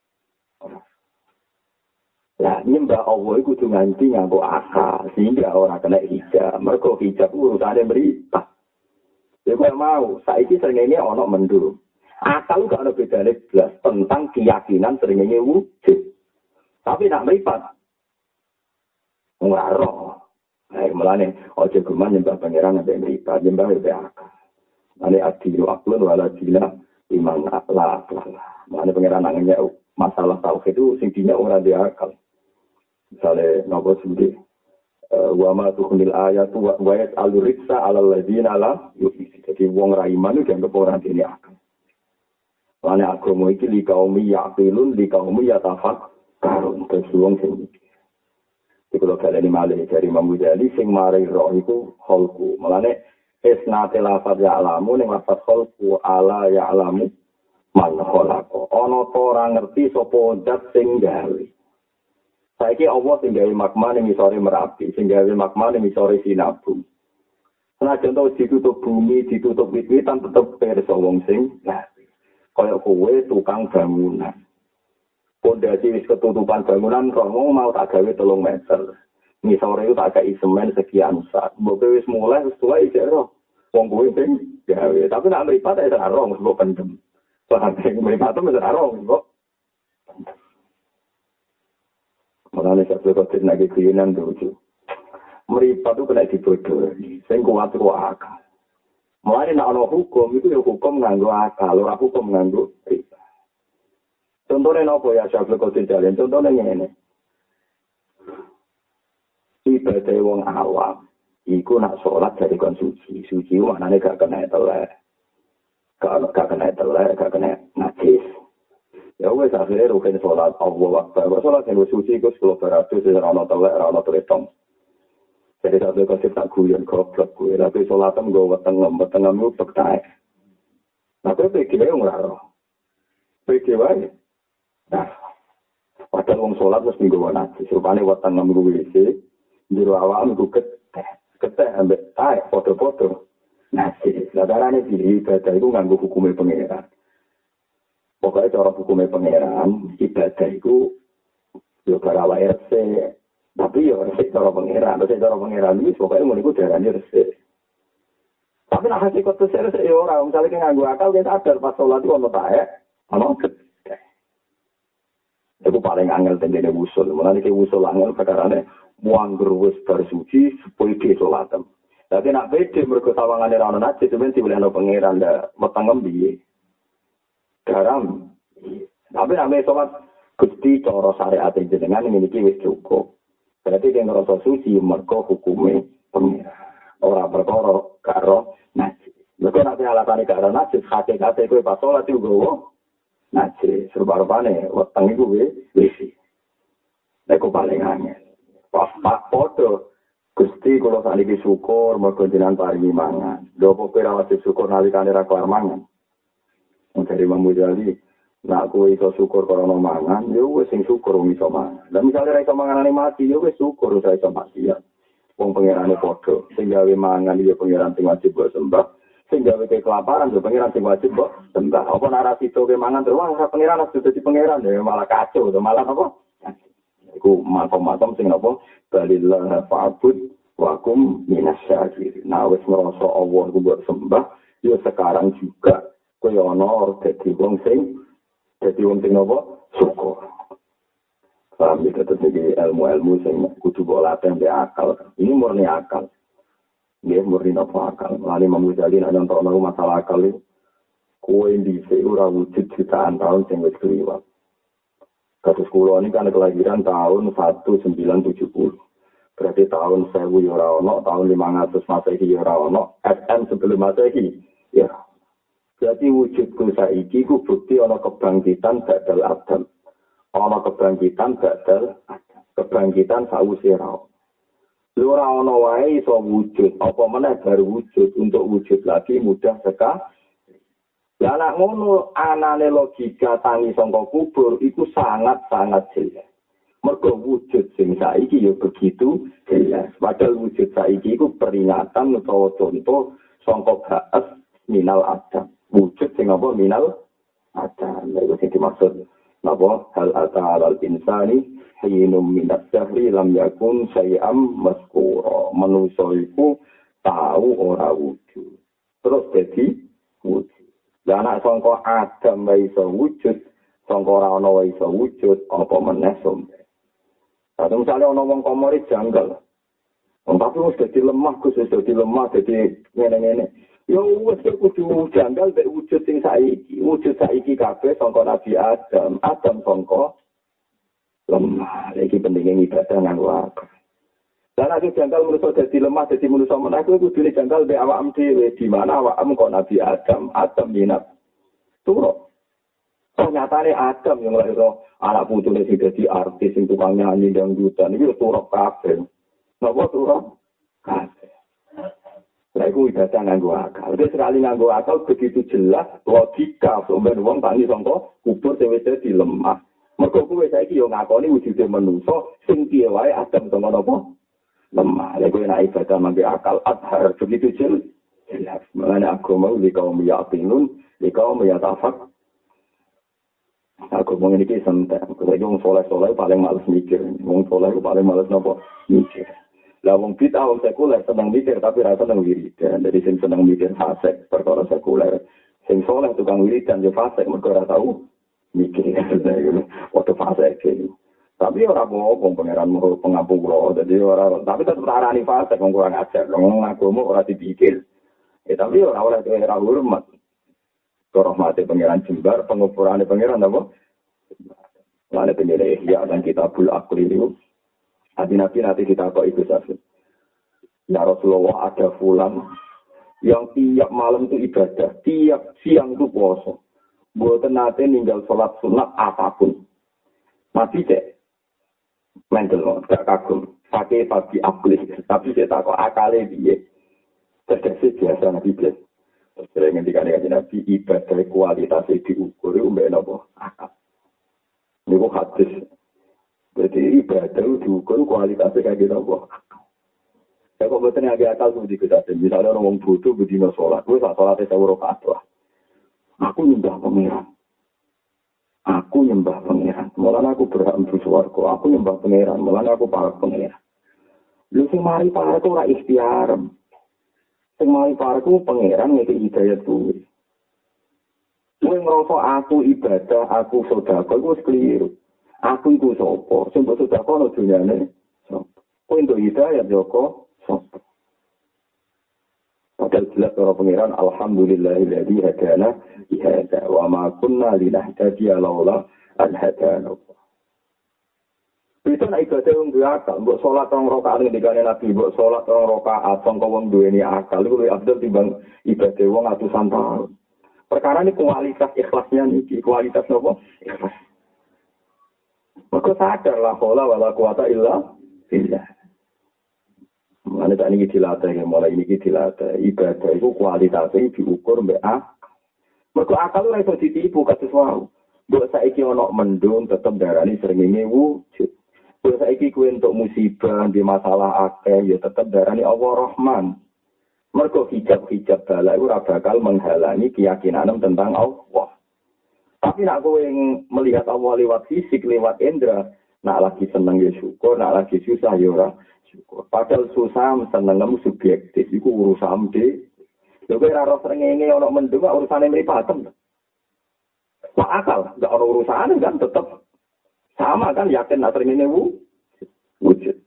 Lah nyembah Allah iku kudu nganti nganggo akal, sehingga ora kena hijab. Mergo hijab urusane mripat. Ya kok mau, saiki srengenge ana mendung. Akal gak ana bedane blas tentang keyakinan srengenge wujud. Tapi nak mripat ora roh. Nah, mulane ojo geman nyembah pangeran ambek mripat, nyembah ambek akal. Ane adilu aklun wala dina iman akla akla. Mulane pangeran nangnya masalah tauhid itu sing dina ora di akal. Misale nopo sendiri wa ma tuhnil ayatu wa yas'alu ritsa 'alal ladzina la yu'minu. Jadi wong ra iman iki dianggap ora dene akal. Lane agama iki li kaumi yaqilun li kaumi yatafakkarun. Terus wong sing iki kula kaleni malih dari Imam Ghazali sing mari roh iku kholku. Mulane isnate lafaz ya alamu ning lafaz kholku ala ya alamu man kholaqo. Ana ta ora ngerti sapa zat sing gawe. Saiki Allah sing gawe magma ning isore Merapi, sing gawe magma ning isore Sinabung. Senajan to ditutup bumi, ditutup wit-witan tetep pirsa wong sing gawe. Kaya kowe tukang bangunan. Pondasi wis ketutupan bangunan romo mau tak gawe telung meter. Ngisore itu tak kei semen sekian sak. Mbok wis mulai wis tuwa iki ro. Wong kowe sing gawe, tapi nek mripat ya ora rong mbok pendem. Soale sing mripat itu ora rong mbok. Mulane sak kok tenaga kriyenan lucu. Mripat itu kena dibodohi, sing kuat ku akal. Mulane nek ana hukum itu ya hukum nganggo akal, ora hukum nganggo riba. Contohnya apa ya Syaikhul Qadir Jalil? Contohnya ngene. Ibadah wong awam iku nak salat dari kon suci. Suci maknane gak kena telek. Gak gak kena telek, gak kena najis. Ya wis akhire rukun salat Allah Akbar. Salat sing suci iku sepuluh beratus ora ono telek, ora ono tretong. Jadi satu kasih tak guyon goblok gue, tapi salatan gue wetengem, wetengem itu pektai. Tapi P G W ora roh. P G W. Nah, padahal wong salat mesti nggawa najis. Rupane wetengem gue W C, jero awakmu gue keteh, keteh ambek tae foto-foto. Najis. Lah darane iki ibadah itu nganggo hukume pangeran. Pokoknya cara hukume pangeran, ibadah itu yo karawa R C. Tapi ya resik cara pengeran, resik cara pengeran ini pokoknya mau ikut darahnya resik. Tapi nak hasil kotor resik ya orang, misalnya kita nganggu akal, kita sadar pas sholat itu ada taek, ada gede. Itu paling angel tendene wusul, mulanya ke wusul angel perkaranya, muang gerwis bersuci, sepuluh di sholatem. Tapi nak beda, mereka sawangannya rana najis, sebenarnya boleh ada pengeran, ada metangem biye. Garam. Tapi nak sholat, gusti cara syariat jenengan memiliki wis cukup. Berarti dia ngerasa suci, mereka hukumnya pengira. Orang berkoro, karo, najis. Mereka nanti alasannya karo najis, hati-hati itu pas sholat juga, najis. Serba-rupanya, weteng itu wisi. Itu paling angin. Pas pak foto, gusti kalau saat ini syukur, mereka jenang paringi mangan. Dopo kira wajib syukur, nalikani rakuar mangan. Dari Imam Ghazali, nak kowe iso syukur karena mangan, ya wis sing syukur wong iso mangan. Lah misale ra iso manganane mati, ya wis syukur ora iso mati ya. Wong pangerane padha, sing gawe mangan ya pangeran sing wajib mbok sembah. Sing gawe kelaparan ya pangeran sing wajib mbok sembah. Apa narasi to ke mangan terus ora pangeran harus dadi pangeran ya malah kacau, malah apa? Iku makom-makom sing napa balillah fa'bud wa kum minasyakirin. Nah wis ngrasa Allah ku mbok sembah, ya sekarang juga kowe ana dadi wong sing jadi wong sing apa? Syukur. Paham ya, tetap jadi ilmu-ilmu sing kudu bola tempe akal. Ini murni akal. Dia murni apa akal. Lalu Imam Ghazali nak nonton masalah akal ini. Kue di ora wujud jutaan tahun sing wis kliwat. Kasus kula ini kan kelahiran tahun seribu sembilan ratus tujuh puluh. Berarti tahun seribu ya ora ono, tahun lima ratus Masehi ya ora ono, S M sebelum Masehi ya. Jadi wujudku saiki ku bukti ana kebangkitan badal Adam. Ana kebangkitan badal Adam. Kebangkitan sawise ra. Lha ora ana wae iso wujud, apa meneh baru wujud untuk wujud lagi mudah sekali. Lah nek ngono anane logika tangi saka kubur iku sangat-sangat jelas. Mergo wujud sing saiki ya begitu jelas. Padahal wujud saiki iku peringatan utawa contoh saka baas minal Adam. Wujud sing apa minal ada lha sing dimaksud napa hal ata al insani hinum minas sahri lam yakun sayam maskura manusa iku tahu ora wujud terus dadi wujud lan nek sangka Adam wae iso wujud sangka ora ana wae iso wujud apa meneh sombe Tapi misalnya ana wong komoris janggal tapi wis dadi lemah Gus wis dadi lemah dadi ngene-ngene yo wis kudu janggal mek wujud sing saiki. Wujud saiki kabeh sangka Nabi Adam, Adam sangka lemah. Iki pentinge ibadah nang wae. Lah Lah nek jangkal manusa dadi lemah dadi manusa meneh kuwi kudune jangkal be awakmu dhewe di mana awakmu kok Nabi Adam, Adam minat. Turu. Ternyata Adam yang lahir anak putune sing dadi artis sing tukang nyanyi dangdutan iki turuk kabeh. Napa turuk? Kabeh. Lah iku ibadah nganggo akal. Wis sekali nganggo akal begitu jelas logika sampeyan wong tangi sangka kubur dhewe dadi lemah. Mergo kuwi saiki yo ngakoni wujude manusa sing piye wae Adam sangka napa? Lemah. Lha kuwi nek ibadah mangke akal adhar begitu jelas. Jelas. Mengenai agama li kaum yaqinun, li kaum yatafak. Aku mau ini santai. Kalau wong soleh-soleh paling males mikir. Wong soleh paling males napa? Mikir. Lah wong bid'ah wong sekuler seneng mikir tapi ra seneng wiridan. Jadi sing seneng mikir fasik perkara sekuler. Sing soleh tukang wiridan yo fasik mergo ora tau mikir. Waktu fasik iki. Tapi ora apa-apa pangeran mau pengapura. Jadi ora tapi tetep arani fasik wong kurang ajar. Wong agama ora dipikir. Ya tapi ora oleh ora hormat. Rahmati pangeran Jembar, pengukurannya pangeran apa? Lalu penilai ya dan kitabul akli itu. Hati nabi nanti kita kok itu saja. Ya Rasulullah ada fulan yang tiap malam itu ibadah, tiap siang itu puasa. Buat nanti ninggal sholat sunat apapun. Mati cek. Mental loh, gak kagum. Pakai pagi akli, tapi saya tak kok akalnya dia. Terkesi biasa nabi biasa. Sering ngendikan kanjeng Nabi ibadah kualitas diukur mbek napa akal. Niku hadis. Jadi ibadah diukur kualitas kaya napa akal. Ya kok boten agak akal kudu diketahui. Misalnya orang wong bodoh bedino salat, wis salate sewu rakaat lah. Aku nyembah pangeran. Aku nyembah pangeran. Mulane aku berhak mlebu swarga. Aku nyembah pangeran. Mulane aku para pangeran. Lu sing mari para itu ora ikhtiar. Sing mari parku pangeran ngeke hidayat kuwi. Kowe ngrasa aku ibadah, aku sedekah, iku wis keliru. Aku iku sapa? Sing mbok sedekah nang dunyane sapa? Kowe entuk hidayat Joko sapa? Padahal jelas para pangeran alhamdulillahilladzi hadana ihada wa ma kunna linahtadiya laula an hadana. Itu nek ibadah wong duwe akal, mbok salat rong rakaat ning dikane Nabi, mbok salat rong rakaat sangka wong duweni akal iku luwih abdul timbang ibadah wong atusan tahun. Perkara ini kualitas ikhlasnya niki, kualitas napa? Ikhlas. Maka sadar la haula wala quwata illa billah. Mulane tak niki dilatih, mulai niki dilatih ibadah itu kualitasnya diukur mbek akal. Maka akal ora iso ditipu kados wau. Mbok saiki ana mendung tetep darani srengenge wujud. Kalau saiki kuwi untuk musibah, di masalah akeh, ya tetap darani Allah Rahman. Mergo hijab-hijab bala itu ora bakal menghalangi keyakinan tentang Allah. Tapi nak kowe melihat Allah lewat fisik, lewat indera, nak lagi seneng ya syukur, nak lagi susah ya ora syukur. Padahal susah senengmu subjektif, iku urusan dhewe. Lha kowe ora ora srengenge ana mendung urusane mripatem. Wah akal, enggak ana urusane kan tetep sama kan yakin nak sering ini wujud.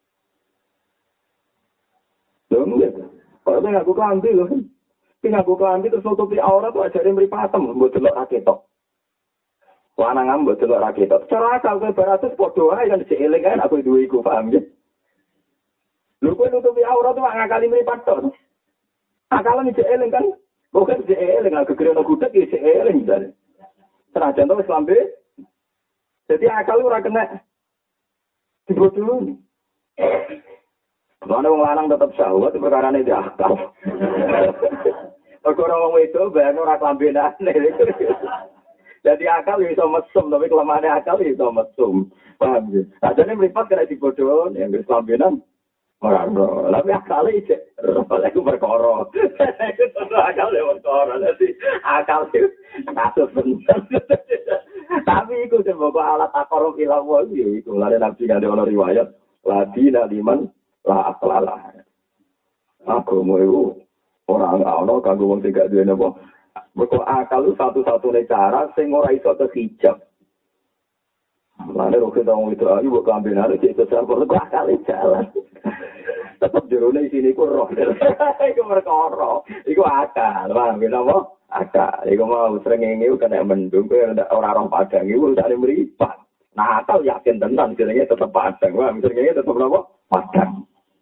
Loh enggak. Kalau saya ngaku kelambi loh. Tapi ngaku kelambi terus nutupi aurat tuh ajarin meripatem. Buat delok raketok. Lanangan buat delok raketok. Cara akal gue beratus podo aja kan dicieling kan aku dua iku paham ya. Lu gue nutupi aurat tuh ngakali meripatem. Akalnya dicieling kan. Bukan dicieling. Aku kira nak gudeg ya dicieling. Senajan tuh kelambi. Jadi akal lu ora kena dibodohi. Mana wong lanang tetep syahwat perkarane di akal. Perkara wong wedok ben ora klambenane. Jadi akal iso mesum tapi kelemahane akal iso mesum. Paham ya? Sajane mripat kena dibodohi yang wis klambenan. Ora ora. Tapi akal iki ora iku perkara. Iku akal e perkara. Dadi akal iki kasus bener. Tapi iku sebab alat takaruf ilawah itu. Lalu Nabi ada ono riwayat. Ladina liman la aklalah. Aku mau itu orang ono kanggo wong sing gak duwe napa. Mergo akal itu satu-satunya cara sing ora iso kehijab. Lalu roke dong itu ayo buat kambenan itu sesar perlu akal jalan. Tetap jerone isine iku roh. Iku perkara. Iku akal. Paham napa? Akal, iku mau srengenge kena mendung, kowe ora roh padang iku usane mripat. Nah, akal yakin tenan jenenge tetep padang. Wah, srengenge tetep napa? Padang.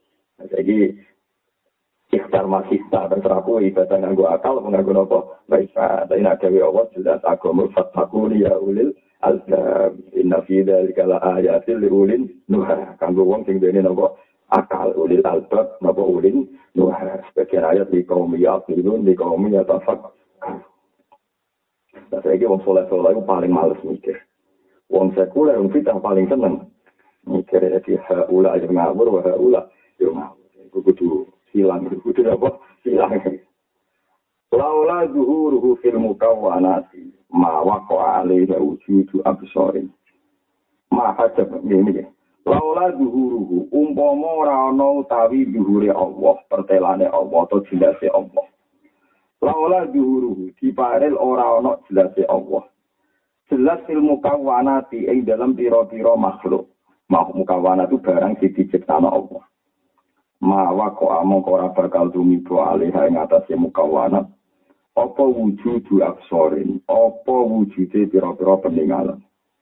Saiki ikhtar masista terserah kowe ibadah nganggo akal apa nganggo napa? Baisa. Tapi nek dhewe Allah jelas agama fatakun ya ulil albab. Inna fi dzalika la ayatil liulil nuha. Kanggo wong sing dene napa? Akal ulil albab napa ulil nuha. Sebagian ayat di kaum yaqilun di kaum yatafak. Nah, saiki wong soleh-soleh itu paling males mikir. Wong sekuler wong fitah paling seneng mikir di haula yang ngawur wa haula yo ngawur. Iku kudu hilang kudu apa? Hilang. Laula zuhuruhu fil mukawwanati ma waqa alaihi wujudu absarin. Ma hajab ngene. Laula zuhuruhu umpama ora ana utawi zuhure Allah, pertelane Allah atau jelase Allah. Laula zuhuruhu diparel ora ana jelase Allah. Jelas ilmu kawanati ing dalam pira-pira makhluk. Makhluk kawana itu barang sing diciptakno Allah. Mawa kok among ora bakal tumibo alih ing atase mukawana. Apa wujudu absorin, apa wujude pira-pira peninggalan.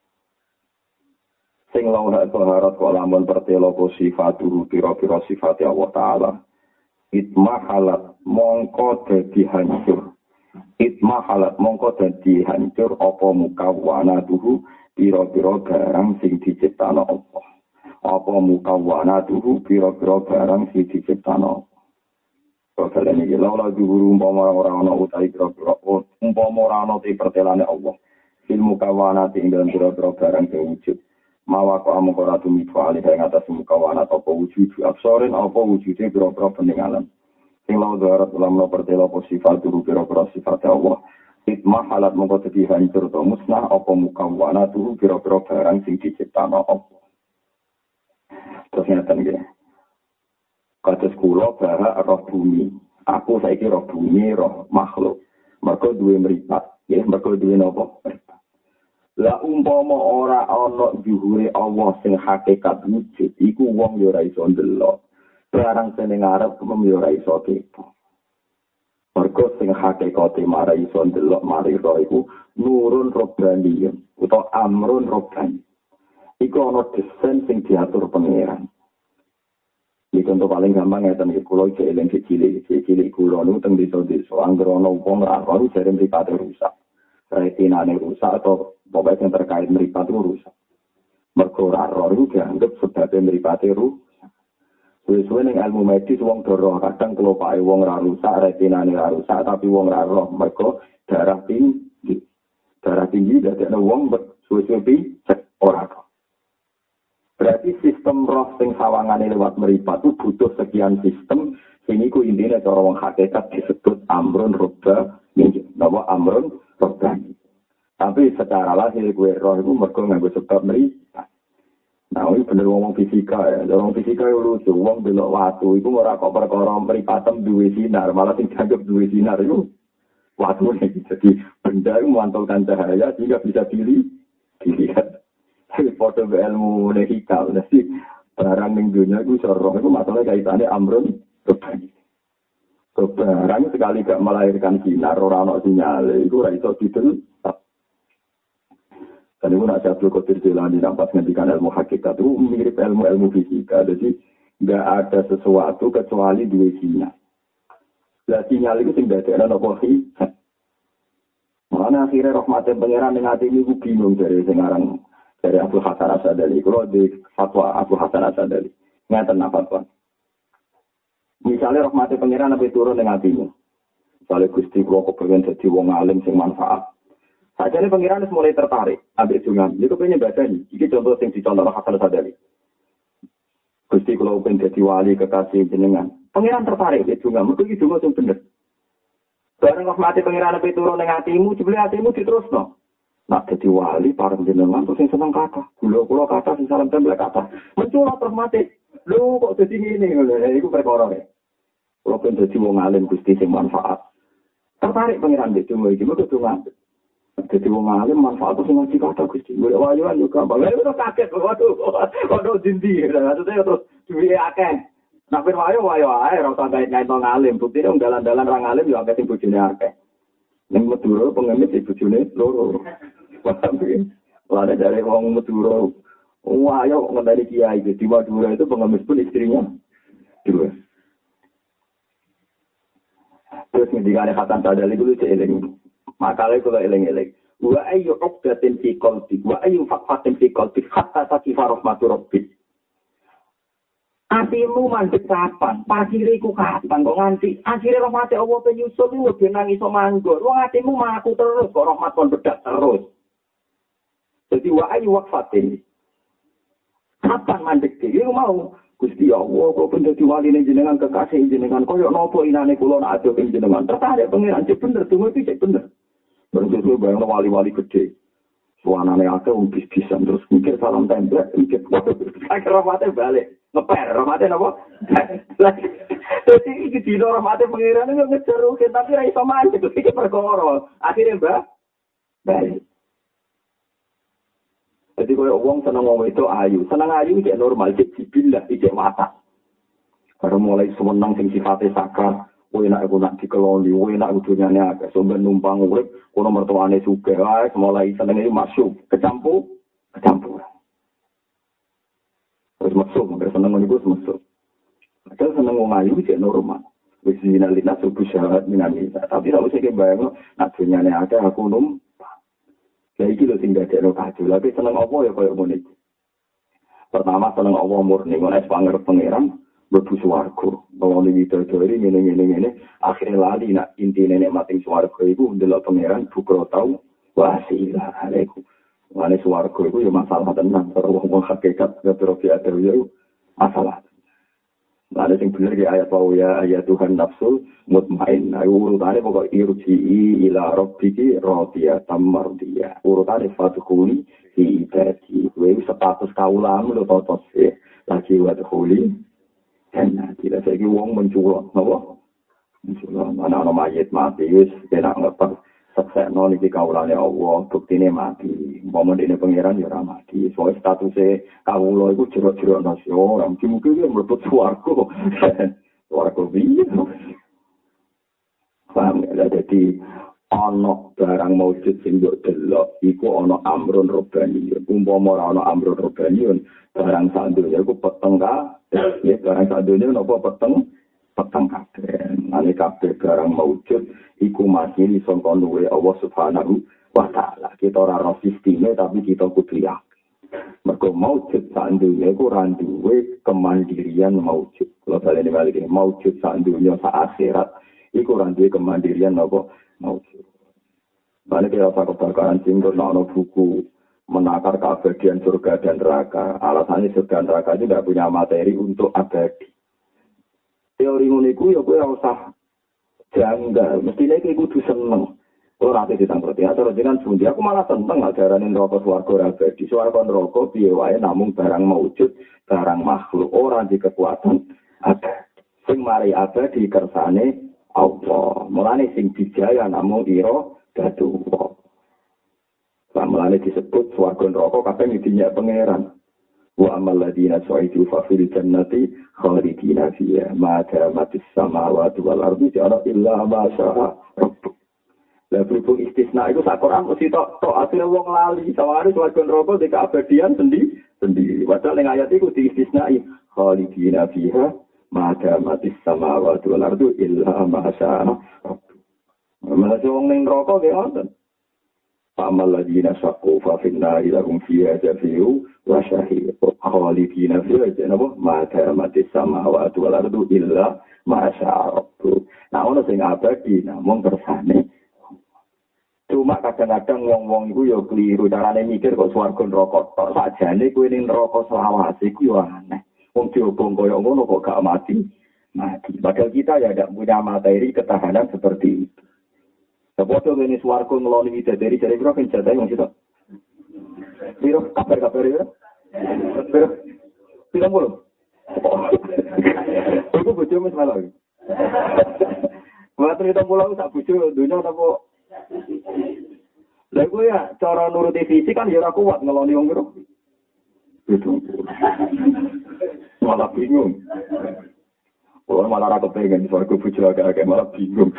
Sing lawan baharat kok lamun pertelo sifat turu pira-pira sifat Allah taala. Itma halat mongko dadi hancur. Itma halat mongko dadi hancur apa mukawana tuhu pira-pira barang sing diciptakno Allah. Apa mukawana tuhu pira-pira barang sing diciptakno. Kalau ini laula dihuru umpama ora ana utawi pira-pira umpama ora ana te pertelane Allah. Fil mukawana ing dalam pira-pira barang sing wujud. Mawa kok amung ora tumiba alih ing atas mukawana apa wujud absoren apa wujude pira-pira peninggalan. Sing lawan darat ulamno pertelo sifat turu pira-pira sifat Allah. Itma halat mongko dadi hancur to musnah apa mukawana turu pira-pira barang sing diciptakno Allah. Terus ngeten nggih. Kados kula bahak roh bumi. Aku saiki roh bumi, roh makhluk. Mergo duwe mripat, nggih, mergo duwe napa? Lah umpama ora ana juhure Allah sing hakikat wujud, iku wong yo ora iso ndelok. Barang sing ngarep mung yo ora iso kepo. Mergo sing hakikate mara iso ndelok mari ro iku nurun robbani utawa amrun robbani. Iku ana desain sing diatur pangeran. Iki contoh paling gampang ngeten iki kula iki eling cilik cilik kula niku teng desa-desa anggere ana wong ora baru jare mripate rusak. Retinane rusak atau pokoknya yang terkait mripat rusak. Mergo ora ora iku dianggep sebabé mripate rusak. Suwe-suwe ning ilmu medis wong doroh kadang kelopake wong ora rusak, retinane ora rusak tapi wong ora roh mergo darah tinggi. Darah tinggi dadekne wong suwe-suwe cek ora roh. Berarti sistem roh sing sawangane lewat mripat itu butuh sekian sistem sing iku intine cara wong hakikat disebut amrun robba napa amrun robba. Tapi secara lahir gue roh itu mergo nganggo sebab mripat. Nah, ini bener ngomong fisika ya. Ngomong fisika itu lucu. Wong belok watu itu ora kok perkara mripatem duwe sinar, malah sing dianggap duwe sinar itu watu iki. Jadi benda itu memantulkan cahaya sehingga bisa dilihat. Dilihat. Foto ilmu lehikal, jadi barang ning dunia itu roh itu masalah kaitannya amrun kebani. Barang sekali gak melahirkan sinar, orang ada sinyal, itu ora iso didelok. Dan itu nak Abdul Qadir Jilani nampak ngendikan ilmu hakikat itu mirip ilmu-ilmu fisika, jadi nggak ada sesuatu kecuali dua sinyal. Lah sinyal itu sing dadekno napa sih? Mana akhirnya rahmatin pangeran ning ati niku bingung dari sing aran dari Abu Hasan Asadali, kalau di fatwa Abu Hasan Asadali, ngeten apa fatwa. Misalnya rahmati pangeran nabi turun dengan hatimu. Misalnya Gusti kalau kepengen jadi wong alim sing manfaat. Saja nih pangeran mulai tertarik, ambil jungan. Itu pengen baca nih. Ini contoh yang dicontoh Hasan Asadali. Gusti kalau pengen jadi wali kekasih jenengan, pangeran tertarik di jungan. Mereka itu jungan yang bener. Barang rahmati pangeran nabi turun dengan hatimu, jebule hatimu diterusno. Nak jadi wali parang jenengan terus yang seneng kata, kulo-kulo kata sing salam tempel kata. Menculot terus mati. Lho kok dadi ngene lho, iku perkara e. Kulo ben dadi wong alim Gusti sing manfaat. Tertarik pangeran iki cuma iki mergo donga. Dadi wong alim manfaat sing ngaji kata Gusti. Wayo yo gampang. Lha terus kaget waduh. Waduh dindi. Maksudnya terus duwe akeh. Nak ben wayo wayo ae ora usah gawe nyaito ngalim. Buktine wong dalan-dalan ra ngalim yo akeh sing bojone akeh. Ning Madura pengemis iki bojone loro. Lalu dari orang Madura, wah ayo ngenteni kiai di Madura itu pengemis pun istrinya dua. Terus ngendikane Hasan Sadali kuwi cek eling. Makale kula eling-eling. Wa ayyu uqdatin fi qalbi wa ayyu faqatin fi qalbi hatta taqifa rahmatu rabbik. Atimu mandek kapan? Pasire iku kapan kok nganti akhire rahmat Allah penyusul lu ben iso manggon. Wong atimu maku terus kok rahmat kon bedak terus. Jadi wa ayyu waqfatin. Kapan mandek iki mau Gusti Allah kok ben dadi waline jenengan kekasih jenengan koyo napa inane kula nak ado ing jenengan. Tertarik pengiran cek bener donga iki cek bener. Berarti bayang wali-wali gede. Suanane akeh bis-bisan terus mikir salam template mikir akhir rahmate balik. Ngeper rahmate napa? Dadi iki dino rahmate pengiran yo ngejar tapi ra iso mandek iki perkara. Akhire mbah balik. Jadi kalau orang senang ngomong itu ayu, senang ayu itu normal, itu jibillah, itu mata. Kalau mulai semenang sing sifatnya sakral, kowe nak aku nak dikeloni, kowe nak kudunyane akeh, sampeyan numpang urip, kono mertuane sugih, wae mulai seneng iki masuk, kecampur, kecampur. Terus masuk, mereka seneng niku masuk. Padahal seneng wong ayu itu normal. Wis dinalina subuh syarat minani. Tapi nek usah kebayang, nak dunyane akeh aku numpang. Jadi kita tinggal di lokasi, tapi seneng Allah ya kayak ngene. Pertama seneng Allah murni, ngono es pangerep pangeran, mlebu swarga. Bahwa ini bidadari ngene-ngene, akhirnya lali nak intine nek mati swarga iku ndelok pangeran bukro tau wasilah alaikum. Wane swarga iku ya masalah tenan, karo wong hakikat ngetro biada ya masalah. Ada yang benar di ayat bahwa ya ayat Tuhan nafsul mutmain. Nah, urutannya pokok irji'i ila rabbiki radiyatan mardiyah. Urutannya fadkhuli fi ibadi. Kuwi status kaulam lho totos e. Lagi wadkhuli jannah. Tidak saiki wong menculok, napa? Menculok ana ana mayit mati wis enak ngepet. Seksekno niki kaulane Allah, buktine mati. Umpama dene pangeran ya ora mati. Soale statuse kawula iku jero-jero nasi ora mungkin-mungkin mlebet swarga. Swarga piye? Paham ya, dadi ana barang maujud sing mbok delok iku ana amrun robani. Umpama ora ana amrun robani, barang sak donya iku peteng ka. Ya barang sak donya napa peteng? Peteng kabeh. Ane kabeh barang maujud iku masih disangka duwe Allah Subhanahu wa taala. Kita ora ro sisteme tapi kita kudu yakin. Mergo maujud sak dunya iku ora duwe kemandirian maujud. Kalau balene balik maujud sak dunya sak akhirat iku ora duwe kemandirian apa maujud. Balik ya apa kebakaran singgur ana buku menakar keabadian surga dan neraka. Alasannya surga dan neraka itu tidak punya materi untuk abadi. Teori uniku ya kowe ora usah janggal, mestine iki kudu seneng. Ora ate ditangkreti, atau jenengan sundi aku malah seneng ajarane neraka swarga ora abadi. Swarga neraka piye wae namung barang maujud, barang makhluk, ora di kekuatan ada. Sing mari abadi kersane Allah. Mulane sing dijaya namung ira dadu. Mulane disebut swarga neraka kabeh dinyak pangeran. Wa amal ladina su'idu fa fil jannati khalidina fiha ma damatis samawati wal ardi ja'ala illa ma syaa rabbuk. Lah berhubung istisna itu sak Quran mesti tok tok asline wong lali saware swarga neraka di keabadian sendiri sendiri. Padahal ning ayat iku di istisnai khalidina fiha ma damatis samawati wal ardi illa ma syaa rabbuk. Malah wong ning neraka ge ngoten. Amal ladina saqu fa finna ilahum fiha jafiu wa syahid khalidina fiha janaba ma ta'amatis samawati wal ardu illa ma syaa rabbuk. Nah ono sing abadi namung kersane. Cuma kadang-kadang wong-wong iku ya keliru carane mikir kok swarga neraka tok sakjane kuwi ning neraka selawase iku yo aneh. Wong diobong koyo ngono kok gak mati. Mati. Padahal kita ya tidak punya materi ketahanan seperti itu. Sepodo ini suarco ngeloni bidadari dari biro kan jatah yang situ. Biro kabar-kabar ya. Biro biro mulu. Aku bojo mes malah. Buat cerita pulau tak bojo dunia apa? Lah gue ya cara nuruti visi kan ya ora kuat ngeloni wong biro. Itu. Malah bingung. Oh malah ra kepengen suarco bojo agak-agak malah bingung.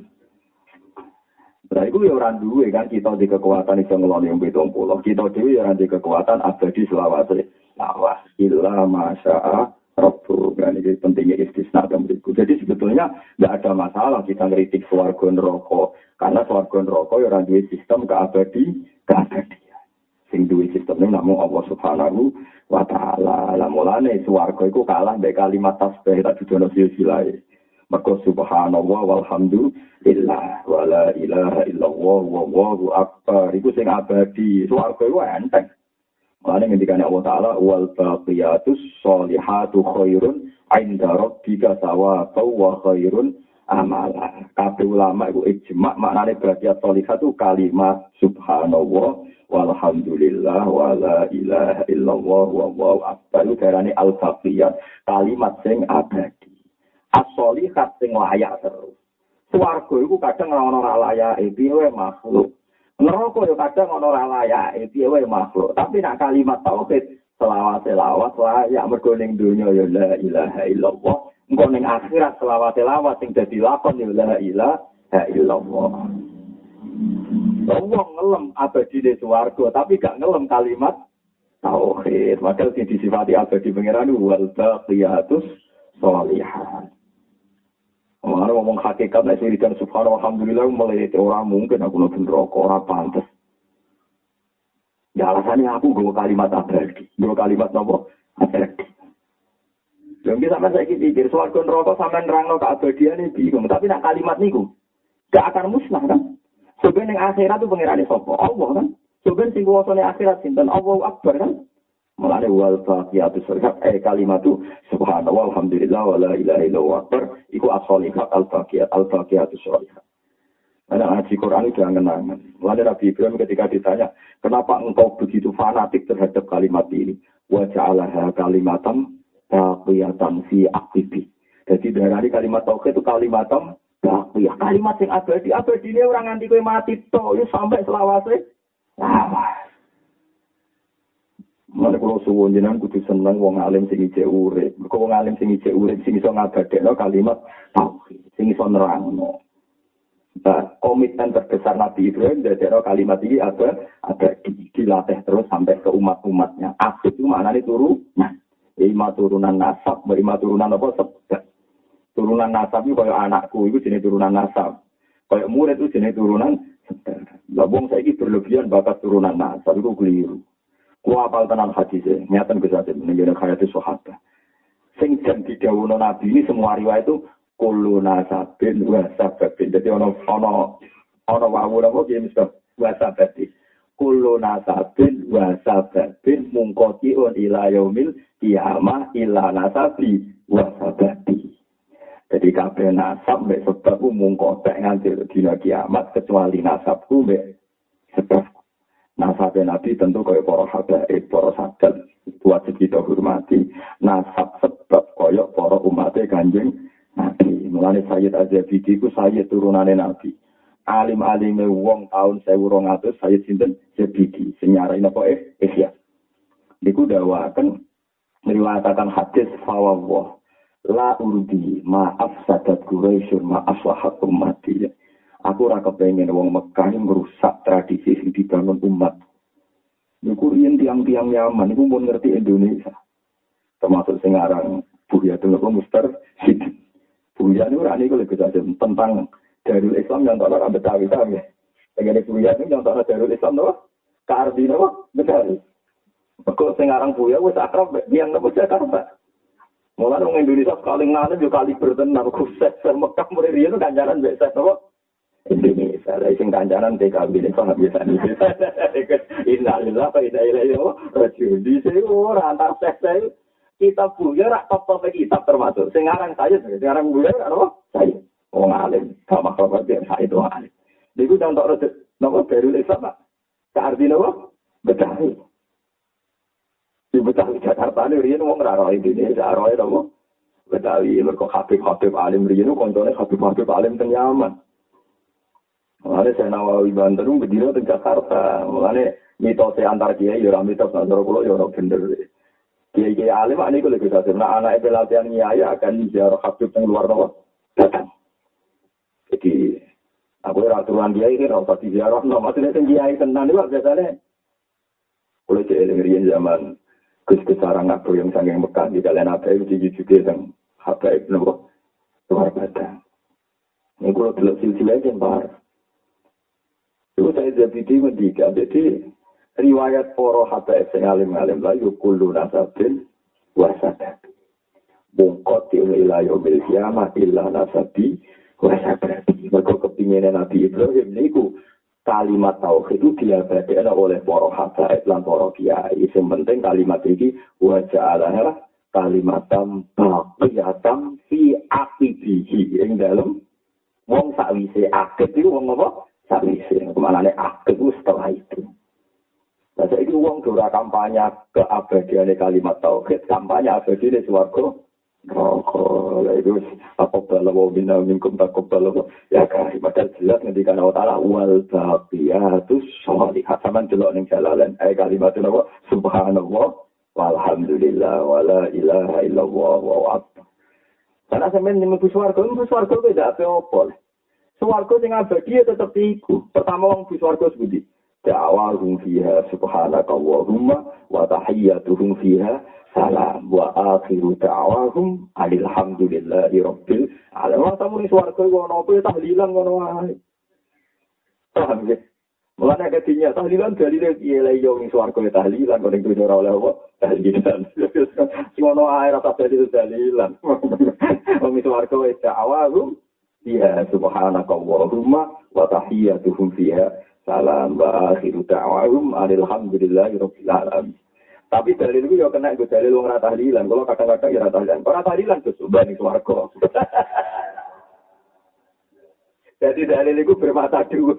Nah, itu ya orang duwe kan kita di kekuatan iso ngeloni yang pitung puluh. Kita dhewe ya di kekuatan abadi selawase. Lawas illa masya'a rabbuk. Kan iki pentingnya istisna macam itu. Jadi sebetulnya nggak ada masalah kita ngeritik swarga neraka karena swarga neraka ya ora duwe sistem keabadi, keabadian. Sing duwe sistemnya namung Allah Subhanahu wa taala. Lah mulane swarga iku kalah mbek kalimat tasbih tak dudono silsilahe. Maka subhanallah walhamdulillah wala ilaha illallah wallahu akbar. Iku sing abadi. Swarga iku enteng. Mulane ngendikane Allah taala wal baqiyatus sholihatu khairun 'inda rabbika thawaban wa khairun amala. Kabeh ulama iku ijma' maknane baqiyat sholihat itu kalimat subhanallah walhamdulillah wala ilaha illallah wallahu akbar. Itu darane al baqiyat, kalimat sing abadi. As-sholihat sing layak terus. Swarga iku kadang ora ono ra layake piye makhluk. Neraka yo kadang ono ra layake piye wae makhluk. Tapi nek kalimat tauhid selawat-selawat layak mergo ning donya ya la ilaha illallah. Engko ning akhirat selawat-selawat sing dadi lakon ya la ilaha illallah. Wong ngelem abadi di swarga tapi gak ngelem kalimat tauhid. Maka sing disifati abadi pangeran wal baqiyatus sholihat. Orang ngomong hakikat, nek wiridan subhanallah alhamdulillah mulai orang mungkin aku nonton rokok ora pantes. Ya alasannya aku gue kalimat abadi, gue kalimat nopo abadi. Jadi sampai saya pikir swarga neraka sampai nerangno keabadian ini bingung, tapi nak kalimat niku gak akan musnah kan? Sebenarnya akhirat itu pengirane sapa? Allah kan. Sebenarnya sing kuwasane akhirat sinten? Allahu Akbar kan. Mulane wal baqiyatus sholihat eh kalimat itu subhanallah alhamdulillah wala ilaha illallah akbar iku as-sholihat al-baqiyat al-baqiyatus sholihat. Ana ngaji Quran itu angen-angen. Mulane Nabi Ibrahim ketika ditanya, "Kenapa engkau begitu fanatik terhadap kalimat ini?" Wa ja'alaha kalimatan baqiyatan fi aqibi. Jadi dari kalimat tauhid itu kalimatam baqiyah. Kalimat yang abadi, abadi ini orang nganti kowe mati tok yo sampai selawase. Wah. Mana kalau suwun jenengan kudu seneng wong alim sing ijek urip. Mergo wong alim sing ijek urip sing iso ngabadekno kalimat tauhid, sing iso nerangno. Nah, komitmen terbesar Nabi Ibrahim dadekno kalimat iki ada ada dilatih terus sampai ke umat-umatnya. Asli itu maknane turunan. Lima turunan nasab, lima turunan apa sebab. Turunan nasab itu kaya anakku itu jenis turunan nasab. Kaya murid itu jenis turunan sebab. Lah wong saiki berlebihan bakat turunan nasab itu keliru. Ku apal tenan hadise, nyatan gesate menjadi khayati sahabat. Sing jan didhawuhna Nabi ini semua riwayat itu kullu nasabin wa sababin. Jadi ana ana ana wawu napa ki mesti wa sababin. Kullu nasabin wa sababin mungqati'un ila yaumil qiyamah illa nasabi wa sababi. Jadi kabeh nasab mek sebab mungqati nganti dina kiamat kecuali nasabku mek sebab. Nasab Nabi tentu kaya para habaib, para sadat wajib kita hormati. Nasab sebab kaya para umatnya Kanjeng Nabi. Mulane Sayyid Az-Zabidi ku Sayyid turunane Nabi. Alim-alime wong tahun seribu dua ratus Sayyid sinten Zabidi. Sing nyarai napa eh Ihya. Niku dawaken meriwayataken hadis fawwah la urdi ma'af sadat Quraisy ma'aslahat ummati. Aku ora kepengin wong Mekah merusak tradisi sing dibangun umat. Niku riyen tiang-tiang Yaman niku mun ngerti Indonesia. Termasuk sing aran Buya Tengah Mustar Sid. Buya niku ora niku lek tentang Darul Islam yang tak ora Betawi ta ya. Tegene Buya niku yang tak Darul Islam to. Kardi napa Betawi. Kok sing aran Buya wis akrab yang napa Jakarta. Mulane wong Indonesia sekali ngene yo kali bertenan khusus Mekah mulai riyen kancanan mbek set napa Indonesia, lah sing kancanan T K B nek ora biasa iki. Innalillahi wa inna ilaihi raji'un. Di sini ora antar seks kita punya rak top-top kitab termasuk. Sing aran saya, sing aran bulan apa? Saya. Wong alim, gak makhluk berarti saya itu alim. Niku contoh napa Darul Islam Pak. Artine apa? Betawi. Di Betawi Jakarta ini riyen wong ora roh Indonesia, roh apa? Betawi mergo Habib-habib alim riyen koncone Habib-habib alim teng Yaman. Mulane saya Nawawi Banten berdiri di Jakarta. Mulane mitose antar kiai ya ora mitos antara kula ya ora bener. Kiai-kiai alim ane kula bisa sebenarnya anak pelatihan kiai akan ziarah habib yang luar Jawa. Datang. Jadi aku ora aturan kiai iki ora usah ziarah no maksudnya sing kiai tenan iki biasane kula cek riyen zaman Gus Sarang Nabi yang sanggeng Mekah di dalan apa iki juga teng habaib nopo delok silsilah yang parah. Itu saya jadi mendiga, jadi riwayat para habaib sing alim-alim la yukullu nasabin wasadat. Bungkot ila yaumil kiamah illa nasabi wasadat. Mergo kepingine Nabi Ibrahim niku kalimat tauhid itu diabadikan oleh para habaib lan para kiai. Sing penting kalimat iki wa ja'alaha kalimatam baqiyatam fi aqibihi ing dalem wong sakwise akid iku wong apa sakwise kemanane akid setelah itu. Nah saiki wong ora kampanye keabadiane kalimat tauhid, kampanye abadine swarga roko lha itu apa balawa bina minkum takobal ya kan padahal jelas ngendikan Allah taala wal baqiyatus sholihat sampean delok ning jalalan eh kalimat apa subhanallah walhamdulillah wala ilaha illallah wa akbar. Karena sampeyan mlebu swarga, mlebu swarga beda apa-apa. Swarga sing abadi tetep iku. Pertama wong mlebu swarga sebuti. Da'awahum fiha subhanakallahumma wa tahiyyatuhum fiha salam wa akhiru da'awahum alhamdulillahi rabbil alamin. Tamu ning swarga ono apa tahlilan ngono wae. Paham ya? Mulane ketinya tahlilan dalile piye lha yo ning swarga tahlilan kok ning dunya ora oleh apa tahlilan. Sing ono ae rasa dadi tahlilan. Wong ning swarga wis da'awahum fiha subhanakallahumma wa tahiyyatuhum fiha salam wa akhiru da'wahum alhamdulillahi rabbil alamin. Tapi dalil itu yo kena go dalil wong ora tahlilan. Kalau kadang-kadang ya ora tahlilan. Ora tahlilan terus ubani swarga. Jadi dalil itu bermata dua.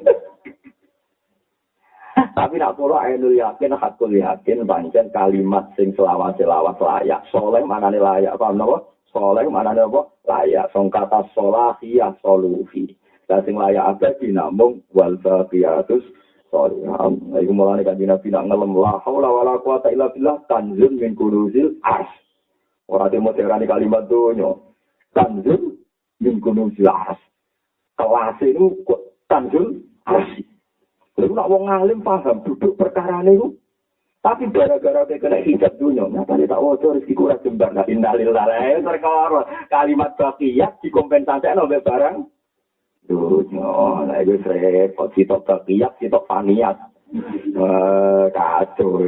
Tapi nak pola ainul yakin, hakul yakin, pancen kalimat sing selawat-selawat layak. Soleh manane layak, paham napa? Soleh manane apa? Layak. Song kata solahiyah solufi. Lah sing layak abadi namung wal baqiyatus sholihat. Iku mulane kanjeng Nabi nak ngelem la haula wala quwata illa billah tanzul min kunuzil ars. Ora demo terani kalimat donya. Tanzul min kunuzil ars. Kelas itu tanzul ars. Lalu nak wong alim paham duduk perkarane iku. Tapi gara-gara kena hijab dunia, nyatane tak waca rezeki kurang jembar. Nah, innalillahi perkara kalimat baqiyat dikompensasikan oleh barang dunia. Lah iku repot sitok baqiyat, sitok faniyat. Eh kacau.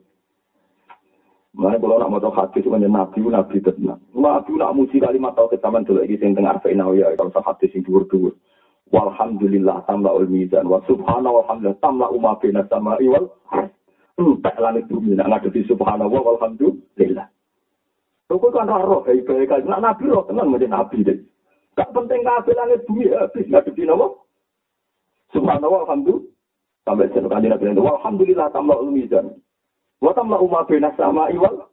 Mana kalau nak maca hadis menyen nabi nabi tenan. Nabi nak muji kalimat tauhid sampean delok iki sing teng arfa'ina ya kalau hadis sing dhuwur-dhuwur. Walhamdulillah tamla'ul mizan wa subhanahu walhamdulillah tamla'u ma baina samai wal tak langit bumi nak ngadepi subhanallah walhamdulillah. Kok kan roh baik-baik kan nak nabi roh tenan menjadi nabi deh. Gak penting kabeh langit bumi habis ngadepi napa? Subhanallah walhamdulillah. Sampai jeneng kanjeng Nabi walhamdulillah tamla'ul mizan. Wa tamla'u ma baina samai wal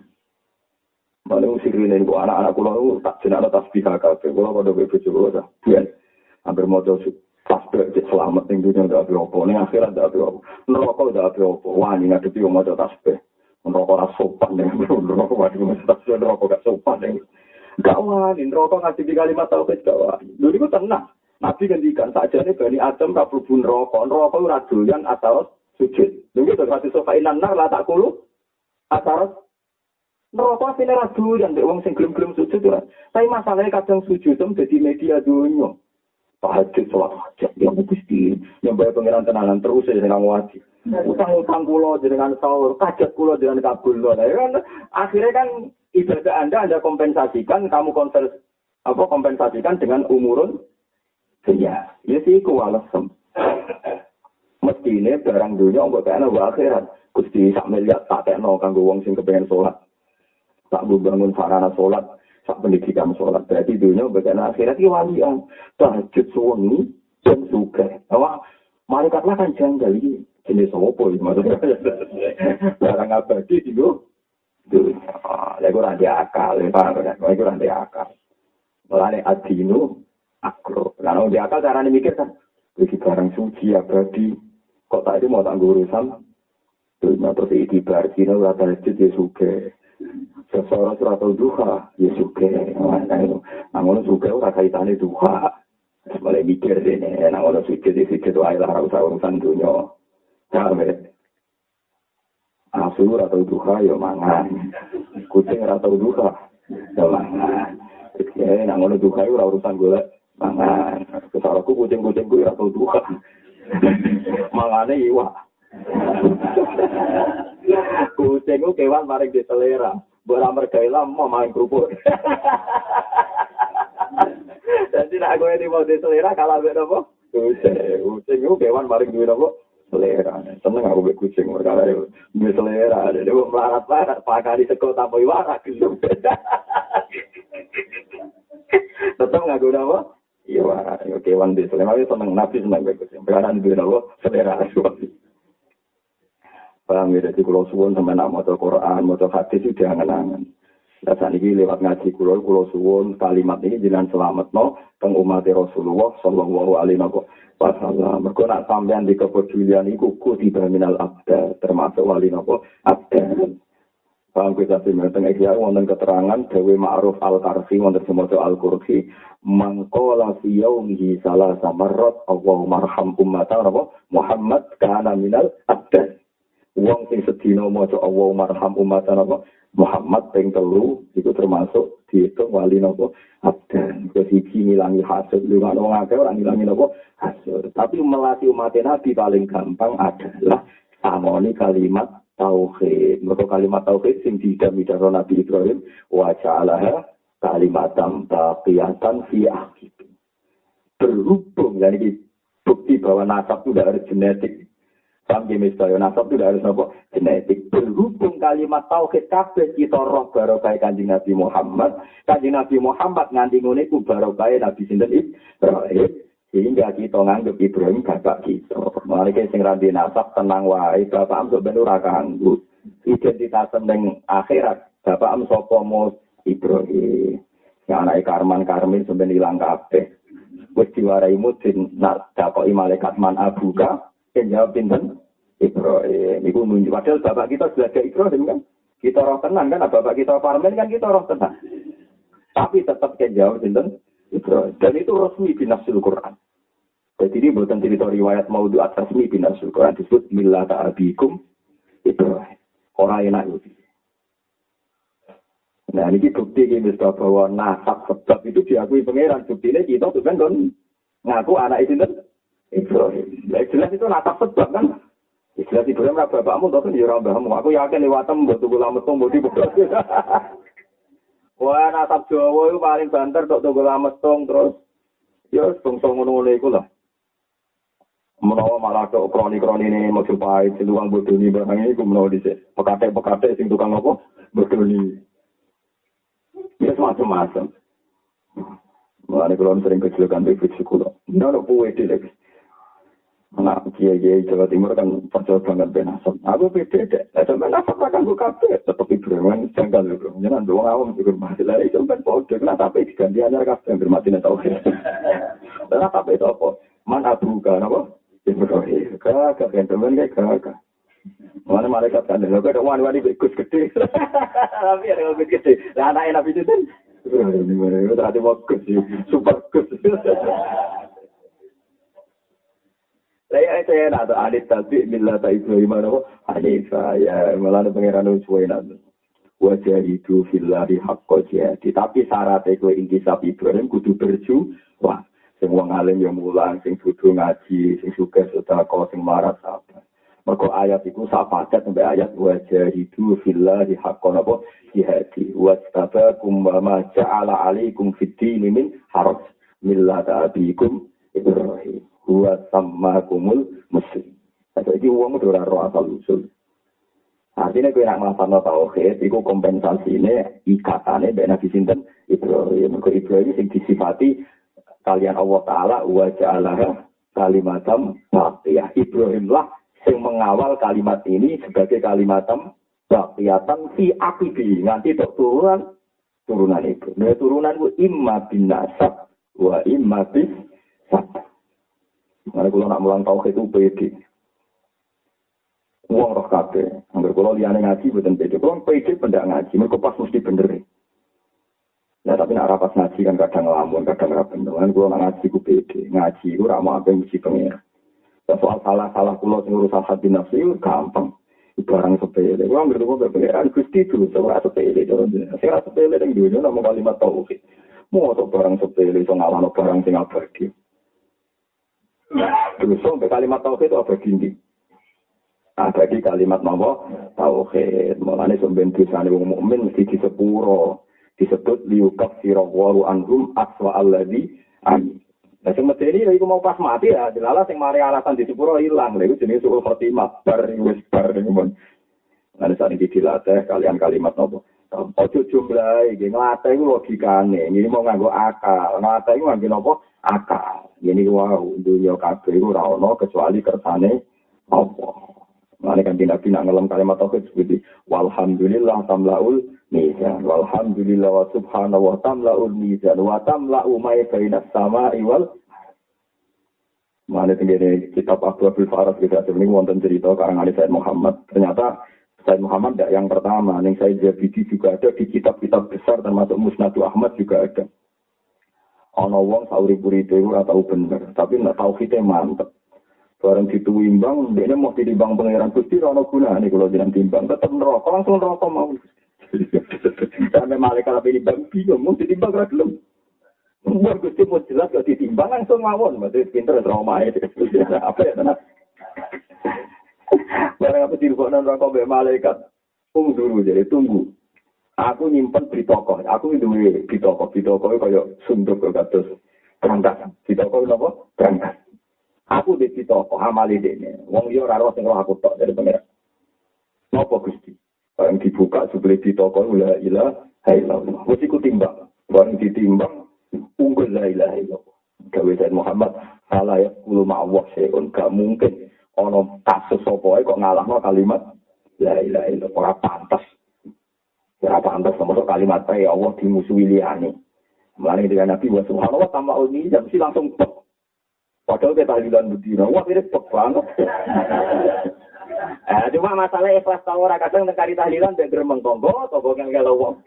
Malu sirine kok anak-anak kula tak jenenge tasbih kabeh. Kula padha bojo kula ta. Hampir mau jauh tasbih selamat ning dunia ndak apa-apa ning akhirat ndak apa-apa neraka ndak apa-apa wani ngadepi wong maca tasbih neraka ora sopan ning neraka wani maca tasbih neraka gak sopan ning gak wani neraka ngadepi kalimat tauhid gak wani lho niku tenang nabi ngendikan sakjane Bani Adam ra mlebu neraka neraka ora doyan asal sujud lho iki terus hadis sofa inan nar la takulu asar neraka sine ra doyan nek wong sing gelem-gelem sujud ora tapi masalahnya kadang sujud tem dadi media dunya tahajud sholat hajat yang mesti yang bayar pengiran tenanan terus ya dengan wajib utang-utang kulo dengan sahur kajat kulo dengan kabul lo kan akhirnya kan ibadah anda anda kompensasikan kamu konvers apa kompensasikan dengan umurun ya ya sih kualasem mesti ini barang dunia mbak kayaknya wa akhirat gusti sak miliar tak kena kanggo wong sing kepengen sholat tak bangun sarana sholat sak pendidikan sholat berarti dunia bagian akhirat ini walian tahajud suami dan suka awak malaikatlah kan janggal ini jenis apa ini maksudnya barang abadi itu dunia itu rantai akal itu rantai akal melani adinu akro karena di akal caranya mikir kan bagi barang suci abadi kok tak itu mau tak urusan dunia terus itibar sini udah tahajud ya suka seseorang surat duha, ya suka. Namun suka ora kaitane duha. Mulai mikir dene, namun suci di situ itu adalah urusan dunia. Sampai asur atau duha ya mangan. Kucing atau duha ya mangan. Oke, namun duha itu urusan golek Mangan. Kesalahanku kucing-kucingku ya tau Tuhan. Mangane iwak. Kucing ku kewan maring di selera. Ora mergawe lama main kerupuk. Jadi nek aku ini mau di selera kalah mbek napa? Kucing. Kucing ku kewan maring duwe napa? Selera. Seneng aku mbek kucing perkara duwe selera. Dene wong melarat-larat pakari sego tanpa iwak gelem. Tetep ngaku napa? Iya warak. Kewan di selera seneng nabi seneng mbek kucing. Perkara duwe napa? Selera. Paham ya, jadi kalau suwun sama nak maca Quran, maca hadis itu angen-angen. Nah, saat ini lewat ngaji kulo, kulo suwun kalimat ini jenengan selamat no, teng umat Rasulullah Sallallahu Alaihi Wasallam. Mereka nak sampean di kepedulian itu kutiba minal abda, termasuk wali nopo abda. Paham kita sih, teng ikhya wonten keterangan Dewi Ma'ruf Al-Karfi wonten semoco Al-Qurfi mangkola fi yaumihi salah samarrat Allahumma arham ummata Muhammad kana minal abda. Wong sing sedina maca Allahumma arham ummatan apa Muhammad ping telu iku termasuk diitung wali napa abdan. Siji ngilangi hasud lho kan wong akeh ora ngilangi napa hasud. Tapi melatih umat Nabi paling gampang adalah samoni kalimat tauhid. Mergo kalimat tauhid sing didham-dham Nabi Ibrahim wa ja'alaha kalimatan baqiyatan fi akhir. Berhubung yani bukti bahwa nasab itu tidak harus genetik. Sampai misalnya nasab itu harus apa? Genetik. Berhubung kalimat tauhid kabeh kita roh barokah Kanjeng Nabi Muhammad. Kanjeng Nabi Muhammad nganti ngene ku barokah Nabi sinten Ibrahim. Sehingga kita nganggep Ibrahim bapak kita. Mulane sing ra di nasab tenang wae, bapak am ben ora kanggo. Identitas ning akhirat, bapak am sapa mus Ibrahim. Ya anake Karman Karmin sampeyan ilang kabeh. Wis diwarai mudin nak dakoki malaikat man abuka. Yang jawab pinten Ibrahim. Iku nunjuk padahal bapak kita belajar Ibrahim kan. Kita roh tenang kan, bapak kita Parmen kan kita roh tenang. Tapi tetap yang jawab pinten Ibrahim. Dan itu resmi binafsul Quran. Jadi ini bukan cerita riwayat maudhu'at resmi binafsul Quran disebut millata abikum Ibrahim. Orang enak itu. Nah ini bukti ini bahwa nasab sebab itu diakui pangeran. Bukti ini kita tuh kan ngaku anak itu kan Ibrahim. Nah, jelas itu nasab sebab kan. Jelas Ibrahim lah bapakmu tapi ya ora mbahmu. Aku yakin liwatem mbok tuku lametung mbok dibebas. Wah, nasab Jawa itu paling banter tok tuku lametung terus ya bangsa ngono-ngono iku lah. Menawa malah tok kroni-kroni ini Majapahit sing tukang bodoni barang iku menawa dhisik. Pekatek-pekatek sing tukang apa? Bodoni. Ya macam-macam. Mulane kalau sering kecelakaan di fisik kulo. Ndak puwe dhewe. Nah, kiai-kiai Jawa Timur kan percaya banget benasab. Aku beda deh. Nah, sampai nasab akan buka kabeh. Tetap Ibrahim janggal lho, bro. Jangan doang awam juga masalah itu kan bodoh. Nah, tapi diganti anyar kabeh yang bermati tahu. Nah, tapi itu apa? Man abuka napa? Ibrahim. Kagak kan temen kayak kagak. Mana malaikat kan lho kok wani-wani Gus gede. Tapi ada Gus gede. Lah anak Nabi itu kan Ibrahim tadi bagus super Gus. Saya saya nak adit tapi bila tak Ibrahim mana adit saya malah pangeran suwe nak wajah itu filari hakko jadi tapi syarat itu intisab Ibrahim kudu berju wah semua ngalim yang mulang sing kudu ngaji sing suka sedekah sing marat apa mergo ayat itu sapadat sampai ayat wajah itu filari hakko napa jihadi wastabakum wa ma ja'ala alaikum fiddin min haraj millata abikum Ibrahim huwa sammakumul muslim. Jadi uang itu ora roh asal usul. Artinya kowe nak nglafalno tauhid iku kompensasine ikatane mbek Nabi sinten Ibrahim. Mergo Ibrahim sing disifati kalian Allah taala wa ja'alaha kalimatam baqiyah. Ibrahim lah sing mengawal kalimat ini sebagai kalimatam baqiyatan fi aqibi nganti tok turunan turunan itu. Nah turunan ku imma bin nasab wa imma bis sabab. Mana kalau nak mulang tauhid itu pede. Uang roh kabeh. Angger kalau liyane ngaji boten pede. Kalau pede pendak ngaji, mergo pas mesti bener. Nah tapi nak rapas ngaji kan kadang ngelamun, kadang ra bener. Kan kalau nak ngaji ku pede. Ngaji ku ra mau apa mesti pengen. Soal salah-salah kula sing urusan hati nafsu itu gampang. Barang sepele. Kulo angger kok pengeran Gusti itu ora sepele. Sing ora sepele ning dunya namung kalimat tauhid. Mosok barang sepele iso ngalahno barang sing abadi. Terus sampai kalimat tauhid itu abadi ndi? Abadi kalimat napa? Tauhid. Mulane sampeyan dosane wong mukmin mesti disepuro. Disebut liukaffira waru anhum aswa alladzi an. Nah sing medeni iku mau pas mati ya, dilala sing mari alasan disepuro ilang. Lha iku jenenge suul khotimah bar wis bar ngono. Nah saat ini dilatih kalian kalimat napa? Ojo jumlah iki nglatih iku logikane. Ini mau nganggo akal. Nglatih iku nganggo napa? Akal. Ini wow, dunia kabeh iku ora ono kecuali kersane apa. Mane kan Nabi nak ngelam kalimat tauhid seperti walhamdulillah tamlaul mizan walhamdulillah wa subhanahu wa tamlaul mizan wa tamla'u ma bainas sama'i wal Mane tengene kitab Abdul Faras kita ini wonten cerita karangan Said Muhammad. Ternyata Said Muhammad tidak yang pertama, ning Said Jabidi juga ada di kitab-kitab besar termasuk Musnadu Ahmad juga ada. Ana wong saurip-uripe ora tau bener, tapi nek tauhide mantep. Barang dituimbang, dia mau ditimbang pangeran Gusti, ana gunane kalau jeneng timbang, tetep neraka, langsung neraka mau. Sampai malaikat apa ditimbang, bingung, mau ditimbang ra gelem. Umur Gusti mau jelas kok ditimbang langsung mawon, berarti pinter trauma itu. Apa ya tenan? Barang apa dirubokno neraka mbek malaikat. Tunggu dulu jadi tunggu. Aku nyimpen di toko, aku duwe di toko, di toko kaya sunduk kados berangkat. Di toko napa? Berangkat. Aku di toko amali dene. Wong liya ora ora sing aku tok dari pangeran. Napa Gusti? Barang dibuka sebelum di toko la ilaha illallah. Wis iku timbang. Barang ditimbang unggul la ilaha illallah. Gawe Said Muhammad ala ya kulo ma'awah seun gak mungkin ana kasus sapa kok ngalahno kalimat la ilaha illallah ora pantes. Ora pantes sama kalimat ya Allah dimusuhi liyane. Mulane dengan Nabi wa subhanahu wa ta'ala ini mesti langsung tok. Padahal kita tahlilan bedina, wah ini pek banget. Eh, cuma masalah ikhlas tau ora kadang tengkari tahlilan dan geremeng tonggo, tonggo yang kalau wong.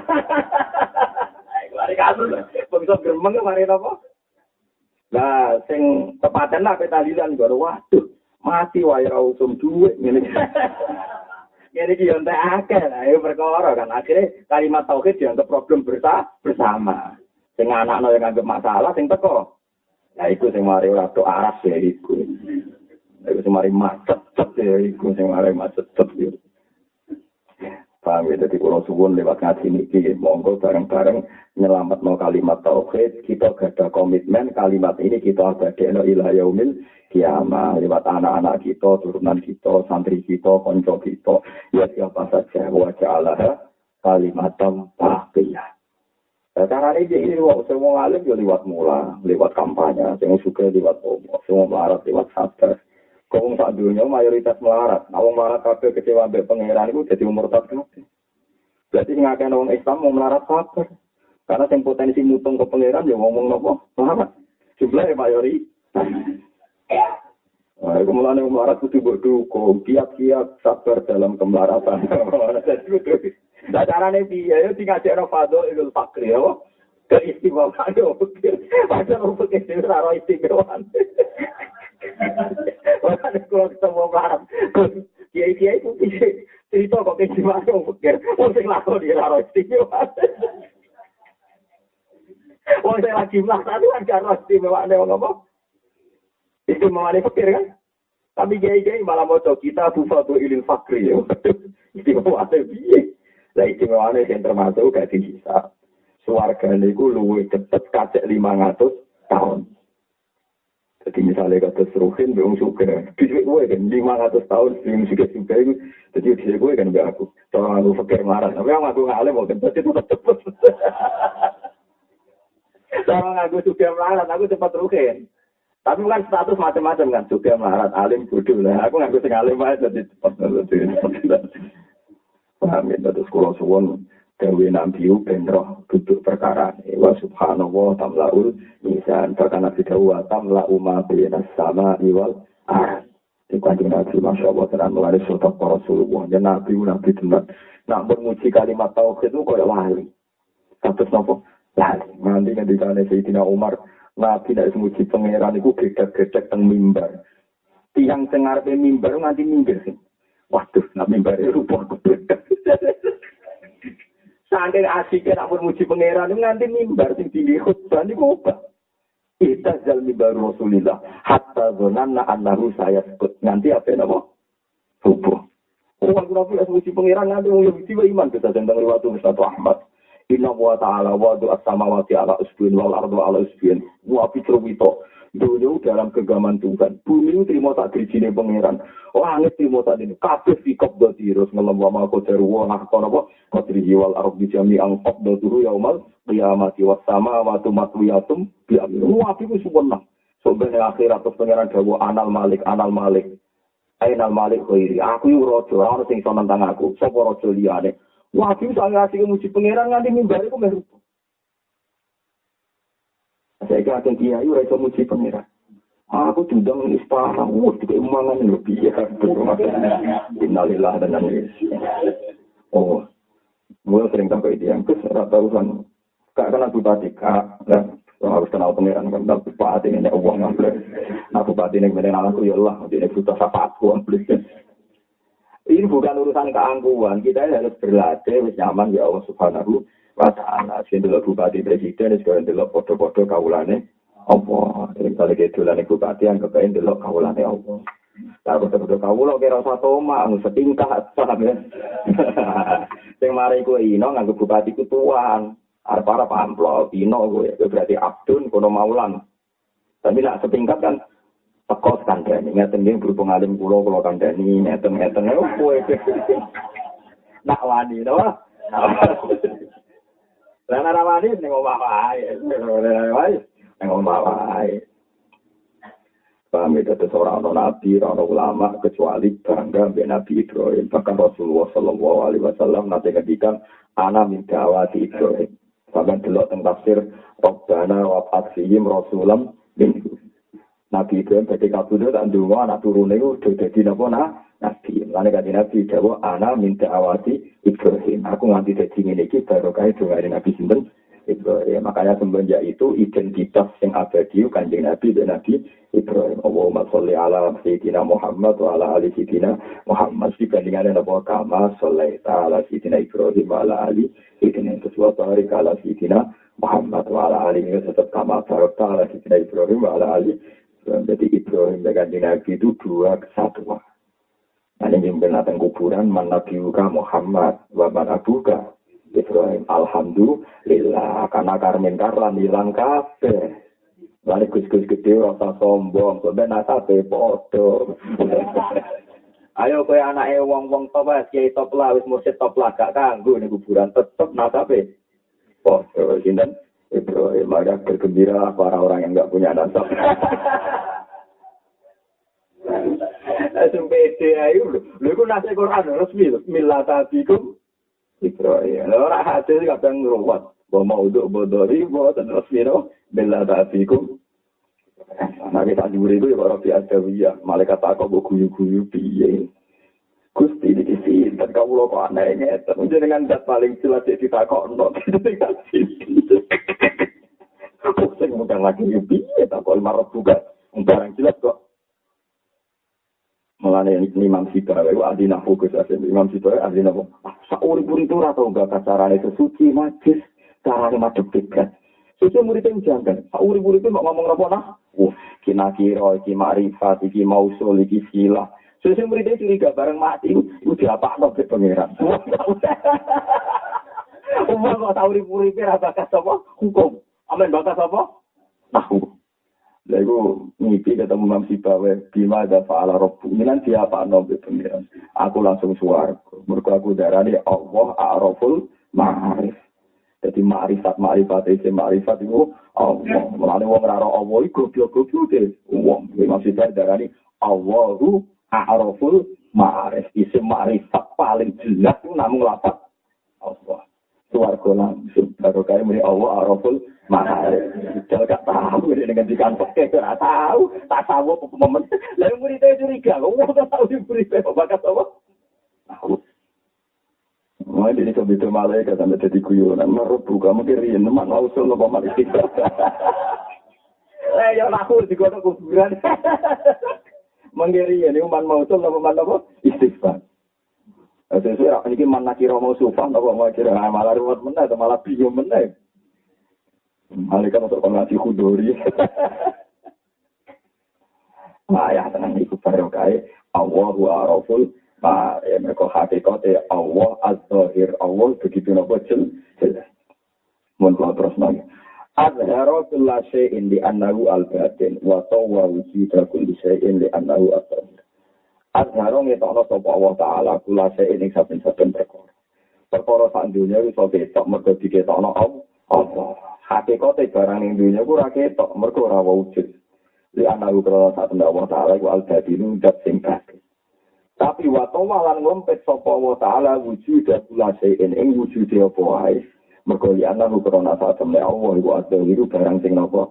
Mari kasus, bisa geremeng kemarin apa? Nah, sing tepatan lah tahlilan baru waduh, mati wae ra usum duit ngene. Ngene iki yo entek akeh lah, ayo perkara kan akhirnya kalimat tauhid dianggap problem bersama. Sing anakno yang anggap masalah sing teko. Nah, itu yang mari ora tok aras ya iku. Iku sing mari macet ya iku sing mari macet ya. Paham ya, dadi kula suwun lewat ngaji niki monggo bareng-bareng nyelametno kalimat tauhid, kita gadah komitmen kalimat ini kita abadekno ila yaumil kiamah lewat anak-anak kita, turunan kita, santri kita, kanca kita, ya siapa saja wa ja'alaha kalimatam baqiyah. Caranya ini lewat semua alim ya lewat mula, lewat kampanye, semua suka lewat omong, semua melarat lewat sabar. Kau tak dunia mayoritas melarat, nawang melarat kabeh kecewa ambek pangeran itu jadi murtad kabeh. Berarti ngakeh wong Islam mau melarat sabar. Karena yang potensi mutung ke pangeran ya ngomong nopo melarat. Jumlahnya mayoritas. Nah, itu mulane melarat kudu mbok dukung, kiat-kiat sabar dalam kemelaratan. Nah, caranya dia, ya tinggal cek Fadol Idul Fakri, ya, keistimewaan, ya, padahal untuk istimewa istimewaan. Makanya kalau ketemu Arab, kiai-kiai itu cerita kok keistimewaan, ya, pikir, mungkin laku dia raro istimewaan. Wong saya lagi melakukan itu kan raro istimewaan, ya, ngomong. Istimewaan itu pikir, kan? Tapi kiai-kiai malah mau kita Fadol Idul Fakri, ya, istimewaan itu lah istimewane yang termasuk gak dihisab. Suwargane iku luwih cepet kacek lima ratus tahun. Jadi misalnya kata seruhin wong sugih, dhuwit kowe kan lima ratus tahun sing sugih-sugih iku dadi dhuwit kowe kan mbak aku. Cara aku pikir marah, tapi aku ngalim kok dadi tetep cepet. Cara aku sugih melarat, aku cepat ruhin. Tapi kan status macam-macam kan, sugih melarat, alim bodoh lah. Aku ngaku sing alim ae dadi cepet. Paham ya, terus kalau suwon Dewi Nabi ben roh duduk perkara wa subhanallah tamlaul mizan karena tidak wa tamlau ma bainas sama iwal ah di kanjeng Nabi masyaallah tenan melalui surah Rasulullah ya Nabi Nabi tenan nak memuji kalimat tauhid itu koyo wali terus nopo lali nanti ngendikane Sayyidina Umar Nabi nek memuji pangeran iku gedhe-gedhe teng mimbar tiyang sing ngarepe mimbar nganti minggir sih. Waduh, nak mimbar rupa kebet. Saking asiknya nak muji pangeran nganti mimbar sing tinggi khutbah niku kok. Kita zal mimbar Rasulillah hatta dzananna annahu sayasqut. Nganti apa napa? Subuh. Orang kafir as muji pangeran nganti wong Yahudi wa iman kita tentang riwayat Musnad Ahmad. Inna wa ta'ala wa du as-samawati ala usbin wal ardu ala usbin. Wa fitrwito. Dunia dalam kegaman Tuhan. Bumi terima tak dirijine pangeran. Langit terima tak dene. Kabeh sikap terus ngelem wa ma qadar wa nahkon apa? Qadrihi wal ardi jami'an qabdatuhu yaumal qiyamati was samawati matwiyatum bi amri. Wa iku sempurna. Sombene akhirat terus pangeran dawuh anal malik anal malik. Ainal malik khairi. Aku yo raja, ora sing iso nentang aku. Sapa raja liyane? Wa iku sange asik muji pangeran nganti mimbar iku meh. Saya kira kiai ora iso muji pangeran. Aku diundang istana, wah tiga umangan lebih ya. Innalillahi dan oh, gue sering sampai itu yang kes rata urusan kak kan aku bupati kak, dan harus kenal pangeran kan tapi bupati ini uang ngambil. Nah bupati ini kemudian aku ya Allah, ini butuh apa aku ambil. Ini bukan urusan keangkuhan, kita harus berlatih, nyaman ya Allah Subhanahu wa ta'ala. Sing delok bupati presiden sekarang delok foto-foto kawulane apa? Sing kali gedolane bupati yang kepen delok kawulane apa? Lah foto-foto kawula kira satu omah setingkat paham ya. Sing mari kowe ino nganggo bupati ku tuan. Arep-arep amplop ino kowe berarti abdun kono maulan. Tapi nak setingkat kan teko kandhani ngeten nggih berhubung alim kula kula kandhani ngeten-ngeten kowe. Nak wani to. Lah ana wani ning omah wae. Ning omah wae. Kami tetap seorang nabi, seorang ulama kecuali bangga dengan Nabi Ibrahim. Bahkan Rasulullah Shallallahu Alaihi Wasallam nanti ngedikan anak minta awati Ibrahim. Bahkan delok teng tafsir Rabbana wa fatsihim Rasulam minhu. Nabi Ibrahim ketika kabudut tak ndonga anak turune udah dadi napa nabi. Lan kanthi Nabi dawuh ana minta awati Ibrahim. Aku nganti dadi ngene iki barokah dongane Nabi sinten Ibrahim. Makanya semenjak itu identitas yang abadi kanjeng Nabi dan Nabi Ibrahim. Allahumma sholli ala sayyidina Muhammad wa ala ali sayyidina Muhammad. Dibandingkan Nabi Kama sholli ala sayyidina Ibrahim wa ala ali sayyidina Rasulullah barik ala sayyidina Muhammad wa ala ali tetap Kama barik ala sayyidina Ibrahim wa ala ali. Jadi Ibrahim dan kanjeng Nabi itu dua kesatuan. Nah ini yang kuburan man nabiuka Muhammad wa man abuka Ibrahim. Alhamdulillah karena karmen karlan hilang kabeh. Lari gus-gus gede rasa sombong, sampe nasabe padha. Ayo kowe anake wong-wong top wae kiai top lah wis mursyid top lah gak kanggo ning kuburan tetep nasabe. Padha sinten Ibrahim ada bergembira para orang yang enggak punya nasab. Langsung pede ayo lho. Lho iku nase Quran resmi lho. Millatabikum Ibrahim. Ora hadis kadang ngruwat. Wa maudhu bodori wa tanasmino millatabikum. Nah kita diuri itu ya para biadawiyah. Malaikat takok mbok guyu-guyu piye. Gusti iki sinten kawula kok aneh ngeten. Jenengan dat paling jelas ditakokno. Kok sing mudah lagi piye takok marep juga. Barang jelas kok. Mulane Imam Sibawai itu ahli nahwu Gus Asim. Imam Sibawai ahli nahwu. Sauri-uri itu atau enggak carane sesuci majis, carane madhep kiblat. Suci murid yang jangan. Sauri-uri itu ngomong apa nah? Oh, kina kira iki makrifat, iki mausul, iki silah. Suci murid itu curiga bareng mati itu diapakno ke pangeran. Umum kok sauri-uri ora bakas apa? Hukum. Amen bakas apa? Nahwu. Lalu mimpi ketemu Imam Sibawai, bima ada fa'ala robbu. Ini nanti apa nabi pengiran. Aku langsung suarga. Mereka aku darahnya Allah a'raful ma'arif. Jadi ma'rifat, ma'rifat, isi ma'rifat itu Allah. Mulanya orang rara Allah itu goblok-goblok deh. Imam Sibawai darahnya Allahu a'raful ma'arif. Isi ma'rifat paling jelas itu namun lapat Allah. Suarga langsung. Baru kaya ini Allah a'raful ma'arif. Jangan gak tahu ini dengan dikantok. Gak tahu. Tak tahu apa momen. Lalu muridnya curiga. Wah tak tahu di muridnya. Bakas apa? Tahu. Wah ini kebetulan malaikat sampai jadi guyonan. Merubu kamu kiriin. Teman lausul apa malaikat. Eh ya aku digodok kuburan. Menggiri ini umat mausul apa apa? Istighfar. Sesuai ini mana kira mau sufan atau mau kira malah ruwet meneh atau malah bingung meneh. Malaikat untuk ngaji khudori. Nah, ya tenang iku barokah Allahu a'raful ma ya mereka hakikate Allah az-zahir Allah begitu napa jelas. Mun terus nang. Azhara kulla syai'in li annahu al-batin wa tawwa wujida kulli syai'in li annahu az-zahir. Azhara ngetokno sapa Allah taala kulla syai'in ing saben-saben perkara. Perkara sak dunya iso ketok mergo diketokno Allah. Hakikate barang ning dunya ku ora ketok mergo ora wujud. Li anahu krono sak Allah taala iku al-badinu dat sing batin. Tapi wa tawalan ngompet sapa Allah taala wujud kula sein ing wujude apa wae. Mergo li anahu krono sak Allah iku al-badinu barang sing napa.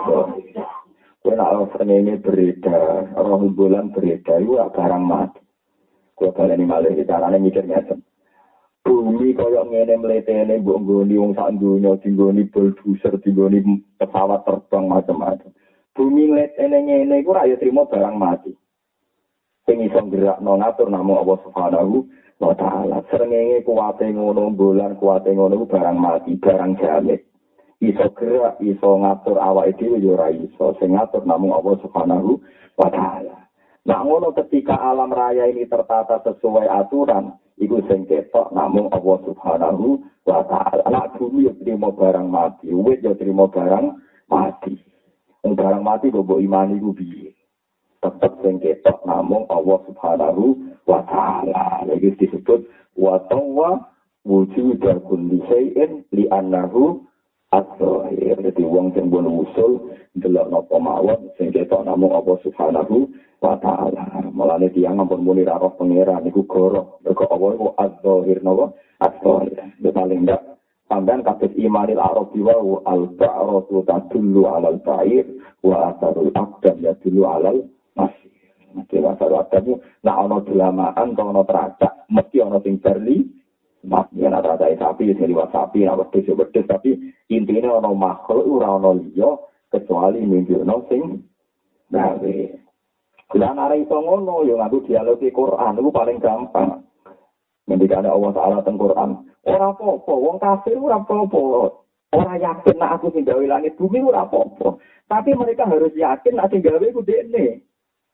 Kowe nek srengenge beredar, ora bulan beredar iku barang mati. Kowe baleni malih carane mikir ngeten. Bumi koyok ngene mletene mbok nggoni wong sak donya dinggoni bulldozer dinggoni pesawat terbang macam-macam. Bumi mletene ngene iku ora ya trimo barang mati. Sing iso gerakno ngatur namung Allah Subhanahu wa taala. Srengenge kuwate ngono bulan kuwate ngono barang mati, barang jamet. Iso gerak, iso ngatur awake dhewe ya ora iso. Sing ngatur namung Allah Subhanahu wa taala. Nah ngono ketika alam raya ini tertata sesuai aturan, iku sing ketok namung Allah Subhanahu wa taala. Nek bumi yo trimo barang mati, wit yo trimo barang mati. Wong barang mati kok mbok imani ku piye? Tetep sing ketok namung Allah Subhanahu wa taala. Iki disebut wa tawwa wujuda kulli syai'in li annahu az-zahir. Dadi wong sing mbon usul delok napa mawon sing ketok namung Allah Subhanahu wa ta'ala. Mulane tiyang ampun muni ra roh pangeran niku goro. Mergo Allah iku az-zahir napa? Az-zahir. Paling ndak sampean kados imanil arabi wa al-ba'ratu tadullu 'alal ba'ir wa atharul aqdam yadullu 'alal masir. Nek asal adamu nek ana delamaan to ana tracak mesti ana sing berli. Mak yen ana tracak sapi sing liwat sapi nek wedhus wedhus tapi intine ana makhluk ora ana liya kecuali nunjukno sing gawe. Kulan arah itu ngono, yang aku dialog di Quran, itu paling gampang. Ngendikane Allah Ta'ala teng Quran. Ora apa-apa, wong kafir ora apa-apa. Ora yakin nek aku sing gawe langit bumi ora apa-apa. Tapi mereka harus yakin nek sing gawe iku dekne.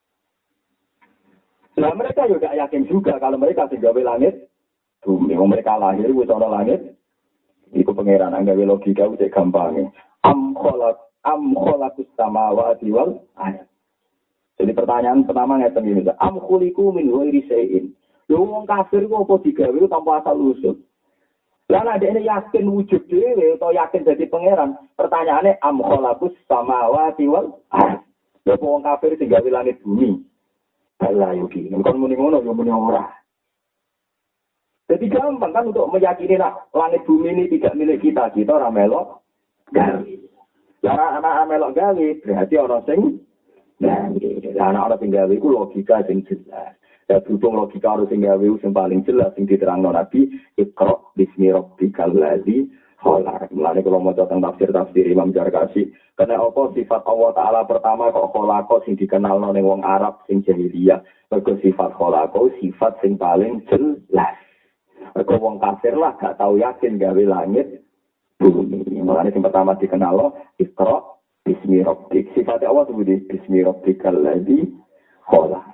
Nah mereka juga yakin juga kalau mereka sing gawe langit bumi. Wong mereka lahir wis ana langit. Iku pangeran gawe logika wis gampang. Am khalaq am khalaqus samawati wal ardh. Jadi pertanyaan pertama ngeten iki, am khuliqu min ghairi syai'in. Lho wong kafir kok apa digawe tanpa asal usul. Lah nek dene yakin wujud dhewe utawa yakin dadi pangeran, pertanyaane am khalaqus samawati wal ardh. Lho wong kafir sing gawe langit bumi. Ala yo iki, kon muni ngono yo muni ora. Jadi gampang kan untuk meyakini nak langit bumi ini tidak milik kita, kita ora melok gawe. Lah ana melok gawe berarti ana sing nah, anak-anak sing gawe iku logika sing jelas. Ya berhubung logika harus sing gawe sing paling jelas sing diterangno Nabi, Iqra bismi rabbikal ladzi khalaq. Mulane kalau maca tentang tafsir-tafsir Imam Jarkasi, karena apa sifat Allah taala pertama kok khalaqa sing dikenalno ning wong Arab sing jahiliyah, mergo sifat khalaqa sifat sing paling jelas. Mergo wong kafir lah gak tau yakin gawe langit bumi. Mulane sing pertama dikenalno Iqra Bismi Rabbik. Sifat Allah itu di Bismi Rabbikal ladzi khalaq.